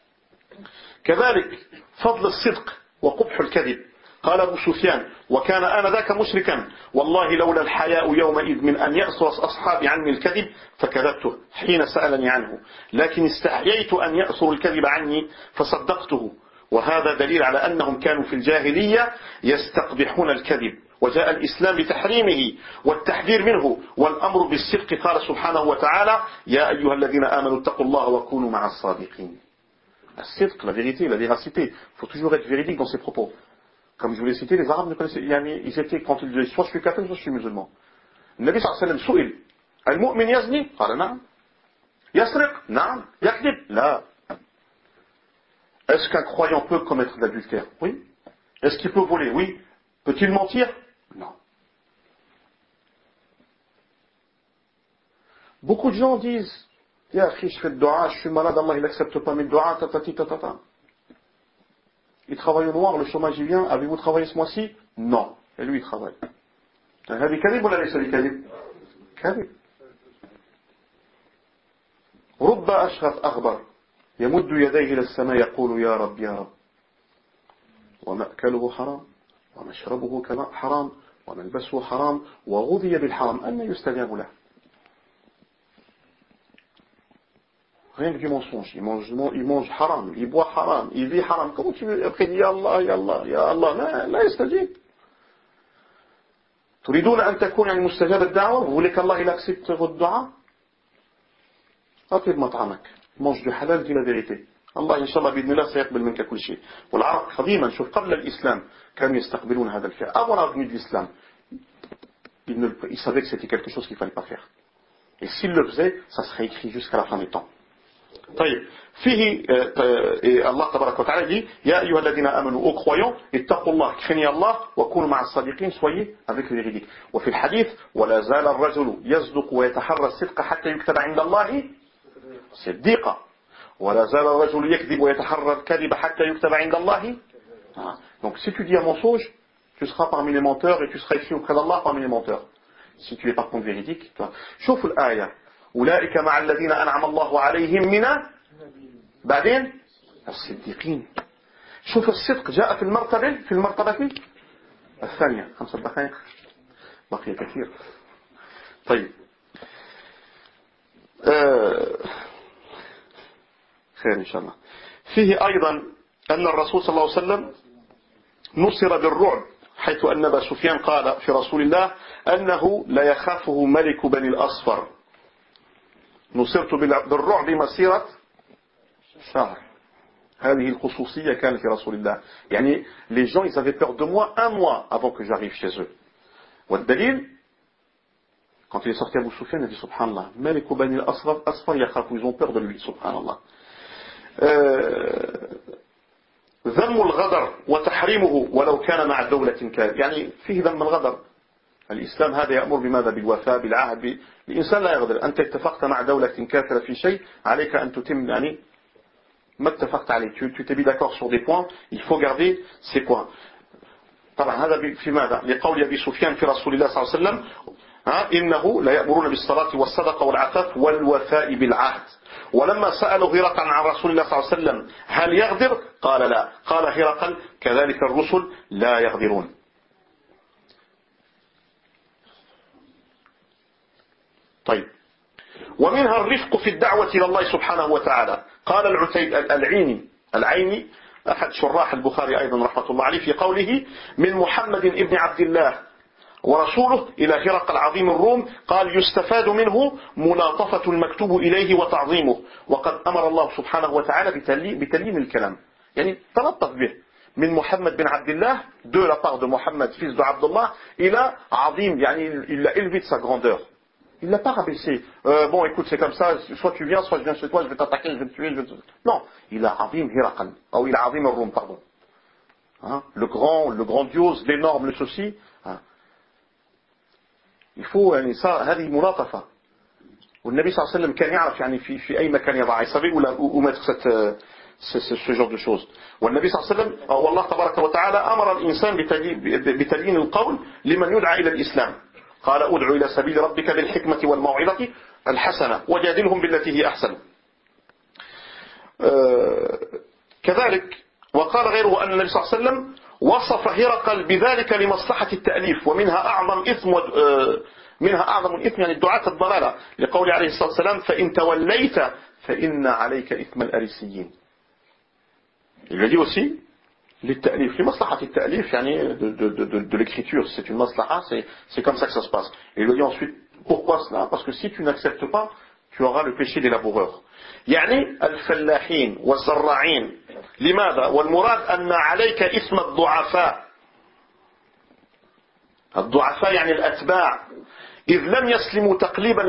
كذلك فضل الصدق وقبح الكذب. قال أبو سفيان وكان آنذاك مشركا والله لولا الحياء يومئذ من أن يأسر أصحابي عني الكذب فكذبته حين سألني عنه لكن استحييت أن يأسر الكذب عني فصدقته. وهذا دليل على أنهم كانوا في الجاهلية يستقبحون الكذب وجاء الإسلام بتحريمه والتحذير منه والأمر بالصدق. قال سبحانه وتعالى يا أيها الذين آمنوا اتقوا الله وكونوا مع الصادقين. الصدق, la vérité, la véracité. Il faut toujours être véridique dans ses propos. Comme je vous l'ai cité, les Arabes ne connaissaient, ils étaient, quand ils disaient soit je suis kafir, soit je suis musulman. Le Nabi sallallahu alayhi wa sallam سئل المؤمن يزني قال نعم يسرق نعم يكذب لا. Est-ce qu'un croyant peut commettre de l'adultère? Oui. Est-ce qu'il peut voler? Oui. Peut-il mentir? Non. Beaucoup de gens disent ya akhi, je fais le dua, je suis malade, Allah il n'accepte pas mes doigts, tatati tatata. Il travaille au noir, le chômage il vient, avez-vous travaillé ce mois-ci? Non. Et lui il travaille. هذه كذب ولا ليس بكذب؟ كذب. رب أشغف أغبر يمد يديه إلى السماء يقول يا رب يا رب ومأكله حرام ومشربه حرام وملبسه حرام وغذي بالحرام أن يستجاب له. Rien que du mensonge. Il mange haram, il boit haram, il vit haram. Comment tu veux après dire Ya Allah, Ya Allah, la yastajib. تريدون أن تكون يعني مستجاب الدعوة. Vous voulez qu'Allah il accepte votre dua. أطلب مطعمك. Mange du halal, dis la vérité. الله إن شاء الله بإذن الله سيقبل منك كل شيء. والعرب قديما شوف قبل الإسلام كانوا يستقبلون هذا الفعل. Avant la venue de l'islam, ils savaient que c'était quelque chose qu'il ne fallait pas faire. Et s'ils le faisaient, ça serait écrit jusqu'à la fin des temps. طيب فيه الله تبارك وتعالى dit يا أيها الذين آمنوا aux croyants اتقوا الله craignez Allah وكونوا مع الصادقين soyez avec les véridiques. وفي الحديث ولا زال الرجل يصدق ويتحرى الصدق حتى يكتب عند الله صديقا ولا زال الرجل يكذب ويتحرى الكذب حتى يكتب عند الله. Donc si tu dis un mensonge, tu seras parmi les menteurs et tu seras écrit auprès d'Allah parmi les menteurs. Si tu es par contre véridique, شوف الآية أولئك مع الذين أنعم الله عليهم من بعدين الصديقين. شوف الصدق جاء في المرتبة الثانية. 5 دقائق بقي كثير. طيب خير إن شاء الله. فيه أيضا أن الرسول صلى الله عليه وسلم نصر بالرعب حيث أن أبا سفيان قال في رسول الله أنه لا يخافه ملك بني الأصفر. نصرت بالرعب مسيرة شهر. هذه الخصوصية كانت في رسول الله. يعني les gens ils avaient peur de moi un mois avant que j'arrive chez eux. والدليل quand il est sorti Abu Sufyan il a dit subhanallah ملك بني الأصفر يخاف, ils ont peur de lui subhanallah. ذم الغدر وتحريمه ولو كان مع دولة كاذب. يعني فيه ذم الغدر. الإسلام هذا يأمر بماذا؟ بالوفاء بالعهد. الإنسان لا يغدر. أنت اتفقت مع دولة كافرة في شيء عليك أن تتم يعني ما اتفقت عليه. tu t'es mis d'accord sur des points, il faut garder ces points. طبعا هذا في ماذا؟ لقول أبي سفيان في رسول الله صلى الله عليه وسلم إنه لا يأمرون بالصلاة والصدقة والعفاف والوفاء بالعهد. ولما سألوا هرقل عن رسول الله صلى الله عليه وسلم هل يغدر؟ قال لا. قال هرقل كذلك الرسل لا يغدرون. طيب ومنها الرفق في الدعوة إلى الله سبحانه وتعالى. قال العيني أحد شراح البخاري أيضا رحمة الله عليه في قوله من محمد ابن عبد الله ورسوله إلى هرقل عظيم الروم قال يستفاد منه ملاطفة المكتوب إليه وتعظيمه وقد أمر الله سبحانه وتعالى بتلين الكلام. يعني تلطف به. من محمد بن عبد الله de la part de Mohammed fils de Abdullah إلى عظيم يعني il l'a élevé de sa grandeur. Il l'a pas rabaissé. Bon, écoute, c'est comme ça. Soit tu viens, soit je viens chez toi. Je vais t'attaquer, je vais te tuer. Non, il a Azim Hiraqal. Il a Azim al-Rum, pardon. Hein? Le grandiose, l'énorme, le ceci. Hein? Il faut, ça, هذه ملاطفة. والنبي صلى الله عليه وسلم كان يعرف يعني في أي مكان يضع. Il savait où mettre ce genre de choses. والنبي صلى الله عليه وسلم والله تبارك وتعالى أمر الإنسان بتلين القول لمن يدعى إلى الإسلام. قال ادعو إلى سبيل ربك بالحكمة والموعظة الحسنة وجادلهم بالتي هي أحسن. كذلك وقال غيره أن النبي صلى الله عليه وسلم وصف هرقل بذلك لمصلحة التأليف ومنها أعظم الإثم يعني الدعاة الضلالة لقول عليه الصلاة والسلام فإن توليت فإن عليك إثم الأريسيين. Il le dit aussi للتأليف لمصلحة التأليف يعني de l'écriture, c'est une maslaha, c'est comme ça que ça se passe. Et il le dit ensuite, pourquoi cela? Parce que si tu n'acceptes pas, tu auras le péché des laboureurs. يعني الفلاحين والزراعين لماذا؟ والمراد أن عليك إثم الضعفاء يعني الأتباع إذ لم يسلموا تقليدا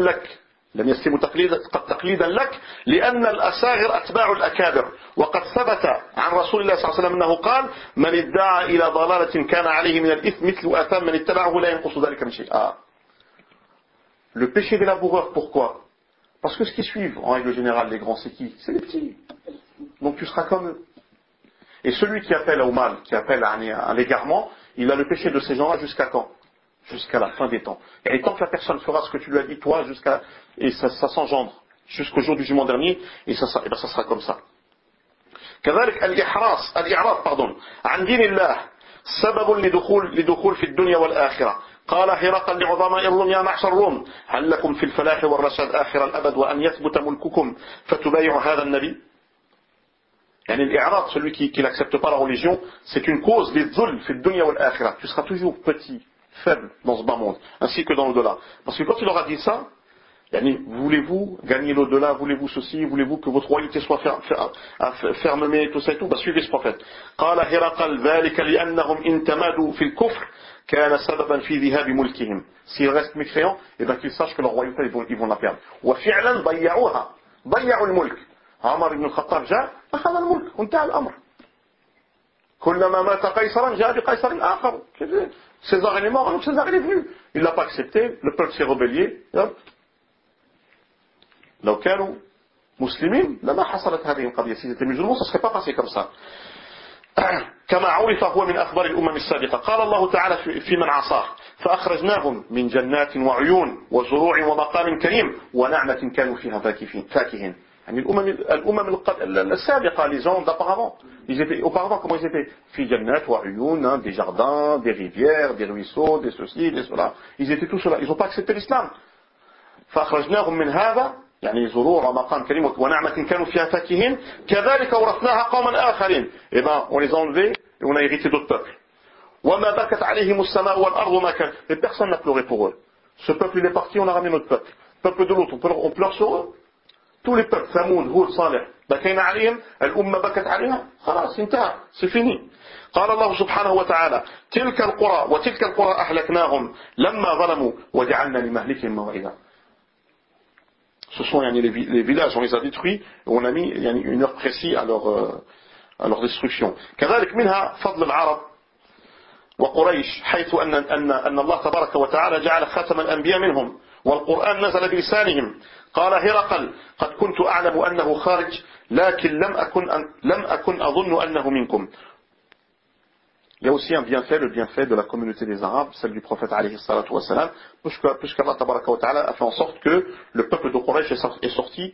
لك لأن الأساغر أتباع الأكابر وقد ثبت عن رسول الله صلى الله عليه وسلم أنه قال من ادعى إلى ضلالة كان عليه من الإثم مثل آثام من اتبعه لا ينقص ذلك من شيء. Le péché des laboureurs, pourquoi? Parce que ce qui suivent en règle générale les grands c'est qui? C'est les petits. Donc tu seras comme eux. Et celui qui appelle au mal, qui appelle à l'égarement, il a le péché de ces gens-là jusqu'à quand? Jusqu'à la fin des temps. Et tant que la personne fera ce que tu lui as dit toi, et ça s'engendre jusqu'au jour du jugement dernier, et ça sera comme ça. كذلك الإعراض عن دين الله سبب لدخول في الدنيا والآخرة قال هرقل لعظماء الروم يا معشر الروم هل لكم في الفلاح والرشاد آخر الأبد وأن يثبت ملككم فتبايعوا هذا النبي. يعني الإعراض, celui qui n'accepte pas la religion, c'est une cause des dhuls في الدنيا والآخرة. Tu seras toujours petit, faible dans ce bas monde, ainsi que dans l'au-delà. Parce que quand il leur a dit ça, yani, voulez-vous gagner l'au-delà, voulez-vous ceci, voulez-vous que votre royauté soit fermée, tout ça et tout, bah suivez ce prophète. قال هرقل ذلك لأنهم إن تمادوا في الكفر كان سببا في ذهاب ملكهم. S'ils restent mécréants, et ben qu'ils sachent que leur royauté ils vont la perdre. وفعلا ضيعوها, ضيعوا الملك. عمر بن الخطاب جاء أخذ الملك وانتهى الأمر. كلما مات قيصرا جاء بقيصر آخر. César est mort, donc César il est venu. Il l'a pas accepté, le peuple s'est rebellé. لو كانوا مسلمين لما حصلت هذه القضية. Si c'était musulman, ça ne serait pas passé comme ça. كما عرف هو من أخبار الأمم السابقة. قال الله تعالى في من عصاه فأخرجناهم من جنات وعيون وزروع ومقام كريم ونعمة كانوا فيها فاكهين. يعني الأمم السابقة, les gens d'auparavant, auparavant comment ils étaient? في جنات وعيون, des jardins, des rivières, des ruisseaux, des ceci, des cela. Ils étaient tous cela. Ils n'ont pas accepté l'islam. فأخرجناهم من هذا يعني زروع ومقام كريم ونعمة كانوا فيها فاكهين كذلك ورثناها قوما آخرين. Et ben on les a enlevés et on a hérité d'autres peuples. وما بكت عليهم السماء والأرض ما كان. Et personne n'a pleuré pour eux. Ce peuple il est parti, on a ramené notre peuple. Peuple de l'autre, on pleure sur eux. Tous les peuples, ثمود, هود, صالح, بكينا عليهم, الأمة بكت عليها, خلاص انتهى, c'est fini. قال الله سبحانه وتعالى تلك القرى وتلك القرى أهلكناهم لما ظلموا وجعلنا لمهلكهم موعدا. Ce sont les villages, on les a détruits, et on a mis une heure précise à leur destruction. كذلك منها فضل العرب وقريش حيث أن الله تبارك وتعالى جعل خاتم الأنبياء منهم والقرآن نزل بلسانهم. قال هرقل قد كنت أعلم أنه خارج لكن لم أكن أظن أنه منكم. Il y a aussi un bienfait, le bienfait de la communauté des Arabes, celle du prophète alayhi salatu wa salam, puisqu'Allah tabaraka wa ta'ala a fait en sorte que le peuple de Quraysh est sorti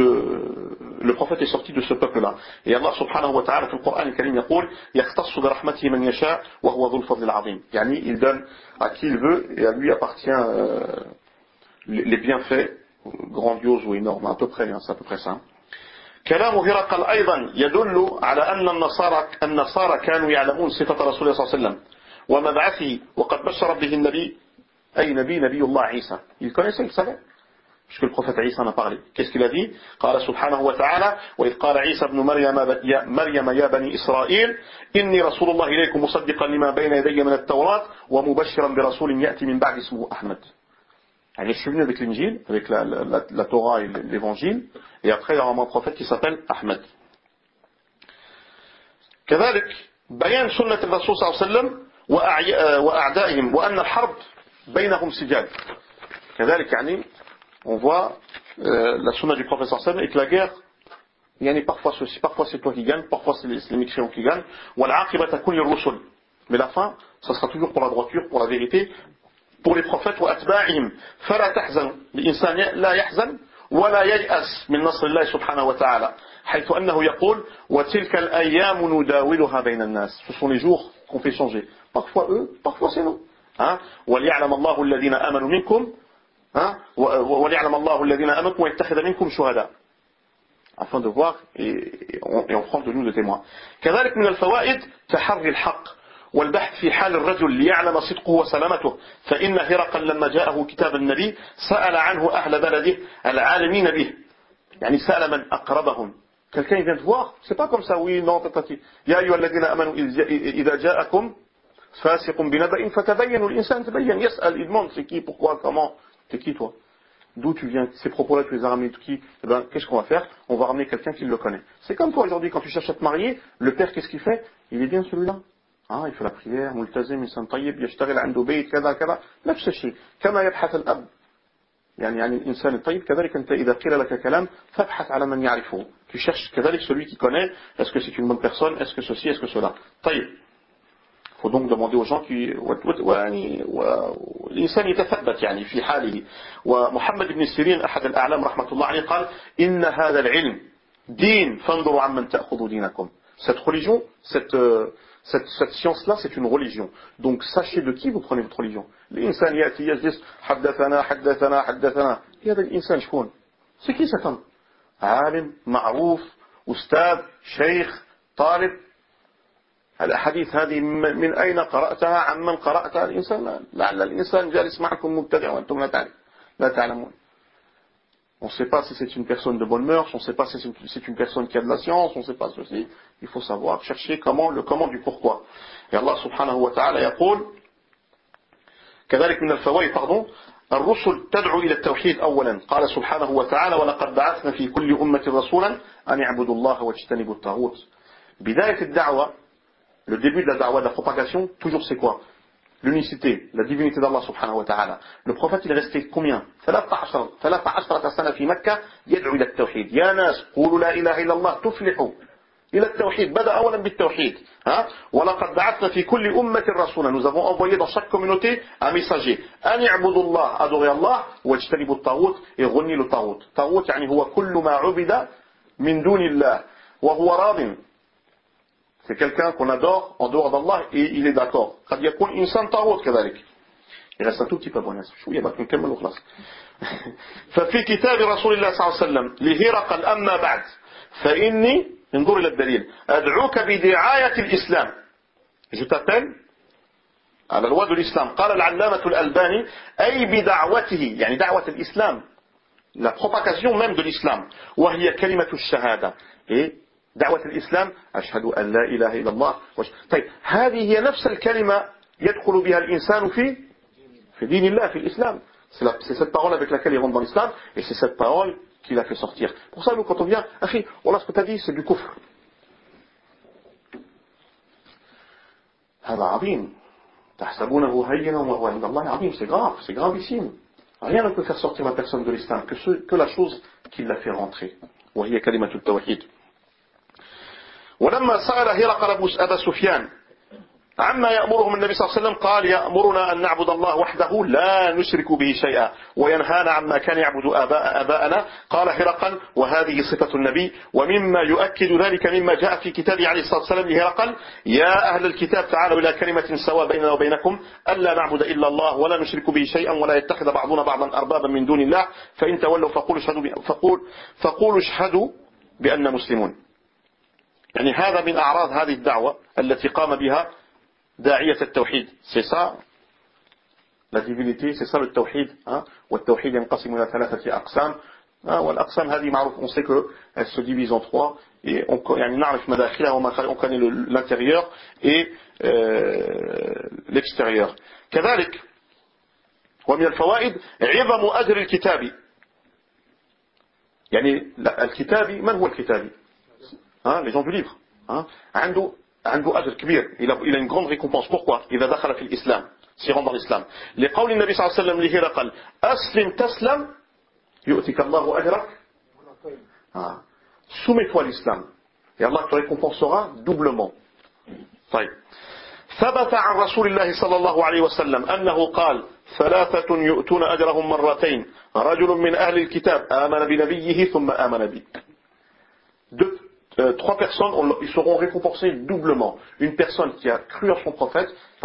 le prophète est sorti de ce peuple-là. Et Allah subhanahu wa ta'ala, dans le Coran al-Karim, يقول يختص برحمته من يشاء وهو ذو الفضل العظيم. يعني il donne à qui il veut et à lui appartient les bienfaits grandioses ou énormes, à peu près, c'est à peu près ça. كلام هرقل أيضا يدل على أن النصارى كانوا يعلمون صفة رسول الله صلى الله عليه وسلم ومبعثه وقد بشر به النبي أي نبي الله عيسى. Il connaissait, il savait, puisque le prophète Isa en a parlé. Qu'est-ce qu'il a dit? قال سبحانه وتعالى وإذ قال عيسى ابن مريم يا بني إسرائيل إني رسول الله إليكم مصدقا لما بين يدي من التوراة ومبشرا برسول يأتي من بعد اسمه أحمد. Je suis venu avec l'Injil, avec la Torah et l'Évangile, et après il y aura un prophète qui s'appelle Ahmed. كذلك بيان سنة الرسول صلى الله عليه وسلم وأعدائهم وأن الحرب بينهم سجال. كذلك يعني on voit la sunna du prophète صلى الله عليه وسلم et que la guerre يعني parfois ceci, parfois c'est toi qui gagne, parfois c'est les mécréants qui gagnent. والعاقبة تكون للرسل. Mais la fin, ça sera toujours pour la droiture, pour la vérité. Pour les prophètes وأتباعهم فلا تحزن الإنسان لا يحزن ولا ييأس من نصر الله سبحانه وتعالى حيث أنه يقول وتلك الأيام نداولها بين الناس. Ce sont les jours qu'on fait changer. Parfois eux, parfois c'est nous. وليعلم الله الذين آمنوا منكم وليعلم الله الذين آمنوا ويتخذ منكم شهداء. Afin de voir et on prend de nous de témoins. كذلك من الفوائد تحري الحق والبحث في حال الرجل ليعلم صدقه وسلامته فإن هرقل لما جاءه كتاب النبي سأل عنه أهل بلده العالمين به. يعني سأل من أقربهم. Quelqu'un vient te voir, c'est pas comme ça, oui, non, tatati. يا أيها الذين آمنوا إذا جاءكم فاسق بنبأ فتبينوا الإنسان تبين يسأل, il demande c'est qui, pourquoi, comment, t'es qui toi, d'où tu viens, ces propos-là tu les as ramenés de qui? Eh ben, qu'est-ce qu'on va faire? On va ramener quelqu'un qui le connaît. C'est comme toi aujourd'hui quand tu cherches à te marier, le père qu'est-ce qu'il fait? Il est bien celui-là. il fait la prière, ملتزم, إنسان طيب, يشتغل عنده بيت كذا كذا. نفس الشيء كما يبحث الأب يعني الإنسان الطيب كذلك أنت إذا قيل لك كلام فابحث على من يعرفه. Tu cherches كذلك celui qui connaît. Est-ce que c'est une bonne personne? Est-ce que ceci? Est-ce que cela? طيب. Il faut donc demander aux gens qui الإنسان يتثبت يعني في حاله. ومحمد بن سيرين أحد الأعلام رحمة الله عليه قال إن هذا العلم دين فانظروا عمن تأخذوا دينكم. Cette religion, cette science-là, c'est une religion. Donc sachez de qui vous prenez votre religion. L'insan yati yajlis haddathana haddathana haddathana. هذا الإنسان شكون؟ C'est qui cet homme? عالم معروف أستاذ شيخ طالب. الأحاديث هذه من أين قرأتها عن من قرأتها؟ الإنسان لعل الإنسان جالس معكم مبتدع وأنتم لا تعلمون. On ne sait pas si c'est une personne de bonne mœurs, on ne sait pas si c'est une personne qui a de la science, on ne sait pas ceci. Il faut savoir chercher le comment du pourquoi. Et Allah subhanahu wa ta'ala يقول كذلك من الفوائد الرسل تدعو إلى التوحيد أولا قال سبحانه وتعالى ولقد بعثنا في كل أمة رسولا أن يعبدوا الله واجتنبوا الطاغوت. بداية الدعوة, le début de la da'wah, de la propagation, toujours c'est quoi? L'unicité, la divinité d'Allah subhanahu wa ta'ala. Le prophète il est resté combien? 13 سنة في مكة يدعو إلى التوحيد. يا ناس قولوا لا إله إلا الله تفلحوا. إلى التوحيد. بدأ أولا بالتوحيد. ولقد بعثنا في كل أمة رسولا. Nous avons envoyé dans chaque communauté un messager. أن يعبدوا الله, adorer Allah, واجتنبوا الطاغوت, et renier le طاغوت. طاغوت يعني هو كل ما عبد من دون الله وهو راض. C'est quelqu'un qu'on adore en dehors d'Allah et il est d'accord. قد يكون إنسان طاغوت كذلك. Il reste un tout petit peu bon. شوية بقى نكمل وخلاص. ففي كتاب رسول الله صلى الله عليه وسلم لهرقل أما بعد فإني انظر إلى الدليل أدعوك بدعاية الإسلام. Je t'appelle على الواد الإسلام. قال العلامة الألباني أي بدعوته يعني دعوة الإسلام. La propagation même de l'islam. وهي كلمة الشهادة. Et دعوة الإسلام أشهد أن لا إله إلا الله. طيب هذه هي نفس الكلمة يدخل بها الإنسان في دين الله في الإسلام. C'est cette parole avec laquelle il rentre dans l'islam et c'est cette parole qui l'a fait sortir. Pour ça, nous, quand on vient, Akhi, voilà ce que tu as dit, c'est du kufr. هذا عظيم. تحسبونه هينا وهو عند الله عظيم. C'est grave, c'est gravissime. Rien ne peut faire sortir la personne de l'islam que la chose qui l'a fait rentrer. وهي كلمة التوحيد. ولما سأل هرقل أبا سفيان عما يأمرهم النبي صلى الله عليه وسلم قال يأمرنا أن نعبد الله وحده لا نشرك به شيئا وينهانا عما كان يعبد آباءنا. قال هرقل وهذه صفة النبي ومما يؤكد ذلك مما جاء في كتاب عليه الصلاة والسلام لهرقل يا أهل الكتاب تعالوا إلى كلمة سواء بيننا وبينكم ألا نعبد إلا الله ولا نشرك به شيئا ولا يتخذ بعضنا بعضا أربابا من دون الله فإن تولوا فقولوا اشهدوا بأننا مسلمون. يعني هذا من أعراض هذه الدعوة التي قام بها داعية التوحيد. C'est ça la divinité, c'est ça le tawhid. والتوحيد ينقسم إلى 3 أقسام. والأقسام هذه معروف, on sait qu'elle se divise en 3 et يعني نعرف مداخلها on connaît l'intérieur et l'extérieur. كذلك ومن الفوائد عظم أجر الكتاب. يعني الكتابي من هو الكتابي؟ Les gens du livre. عنده أجر كبير. Il a une grande récompense. Pourquoi? إذا دخل في الإسلام. s'il rentre dans l'islam. لقول النبي صلى الله عليه وسلم لهرقل أسلم تسلم يؤتك الله أجرك. Soumets-toi à l'islam. Et Allah te récompensera doublement. طيب. ثبت عن رسول الله صلى الله عليه وسلم أنه قال 3 يؤتون أجرهم مرتين رجل من أهل الكتاب آمن بنبيه ثم آمن بي. 3 personnes, ils seront récompensés doublement. Une personne qui a cru en son prophète,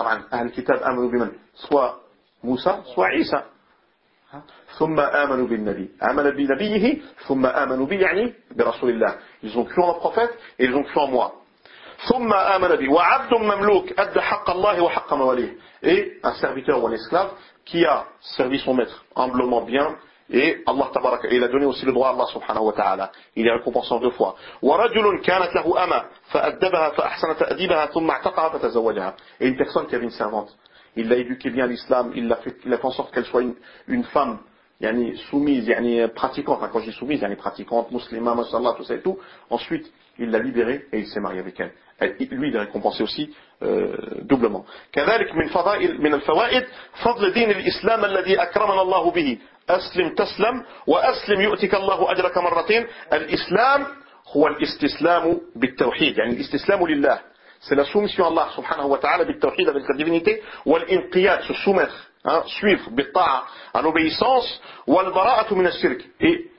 soit Moussa, soit Isa. ثم آمنوا بالنبي. آمن بنبيه ثم آمنوا بي يعني برسول الله. Ils ont cru en le prophète et ils ont cru en moi. ثم آمن بي. وعبد مملوك أدى حق الله وحق مواليه. Et un serviteur ou un esclave qui a servi son maître humblement bien. Et Allah tabaraka, il a donné aussi le droit à Allah subhanahu wa ta'ala. Il est récompensé en 2 fois. وَرَجُلٌ كَانَتْ لَهُ أَمَةٌ فَأَدَّبَهَا فَأَحْسَنَ تَأْدِيبَهَا ثُمَّ اعْتَقَهَا فَتَزَوَّجَهَا. Et une personne qui avait une servante, il l'a éduquée bien à l'islam, il a fait en sorte qu'elle soit une femme yani, soumise, yani, pratiquante. Quand je dis soumise, yani, pratiquante, musulmane, mashallah, tout ça et tout. Ensuite, il l'a libérée et il s'est marié avec elle. Lui, il est récompensé aussi doublement. كذلك من الفوائد فضل دين الإسلام الذي أكرمنا الله به. أسلم تسلم وأسلم يؤتك الله أجرك مرتين. الإسلام هو الاستسلام بالتوحيد يعني الاستسلام لله. C'est la soumission à Allah subhanahu wa ta'ala بالتوحيد avec la divinité والانقياد se soumettre suivre بالطاعة en obéissance والبراءة من الشرك et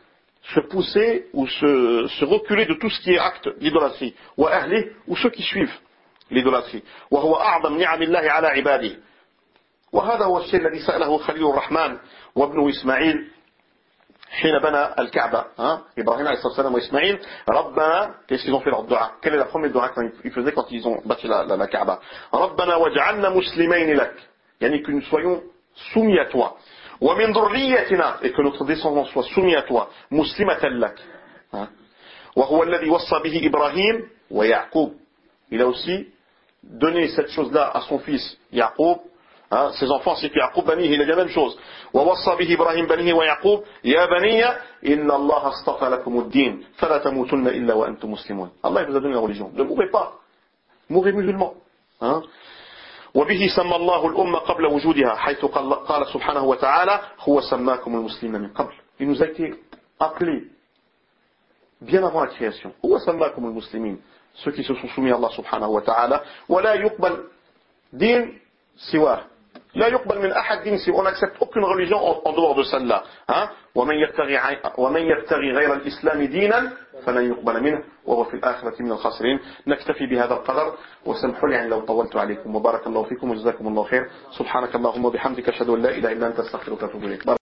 se pousser ou se reculer de tout ce qui est acte d'idolâtrie. Wa ahli, ou ceux qui suivent l'idolâtrie. Wa huwa a'zam ni'amillahi ala ibadihi. وهذا هو الشيء الذي سأله خليل الرحمن وابنه إسماعيل حين بنى الكعبة. إبراهيم عليه الصلاة والسلام وإسماعيل ربنا, qu'est-ce qu'ils ont fait leur dua? Quelle est la première dua qu'ils faisaient quand ils ont bâti la Kaaba? ربنا وجعلنا مسلمين لك, يعني que nous soyons soumis à toi. ومن ذريتنا, et que notre descendance soit soumis à toi. مسلمة لك. وهو الذي وصى به إبراهيم ويعقوب. Il a aussi donné cette chose-là à son fils Yaqub. Ses enfants, c'est que Yaqub Banihi, il a dit la même chose. وَوَصَّى بِهِ إِبْرَاهِيمَ بَنِيهِ وَيَعْقُوبَ يَا بَنِيَّ إِنَّ اللَّهَ اصْطَفَى لَكُمُ الدِّينَ فَلَا تَمُوتُنَّ إِلَّا وَأَنْتُمْ مُسْلِمُونَ. Allah il vous a donné la religion. Ne mourrez pas. Mourrez musulmans. وبه سمى الله الأمة قبل وجودها حيث قال سبحانه وتعالى هو سماكم المسلمين من قبل. Il nous a été appelé bien avant la création. هو سماكم المسلمين. Ceux qui se sont soumis à Allah subhanahu wa ta'ala. ولا يقبل دين سواه. لا يقبل من أحد دين سواه. On n'accepte aucune religion en dehors de celle-là. ومن يبتغي غير الإسلام دينا فلن يقبل منه وهو في الآخرة من الخاسرين. نكتفي بهذا القدر وسامحوا لي يعني لو طولت عليكم وبارك الله فيكم وجزاكم الله خير. سبحانك اللهم وبحمدك أشهد أن لا إله إلا أنت أستغفرك وأتوب إليك.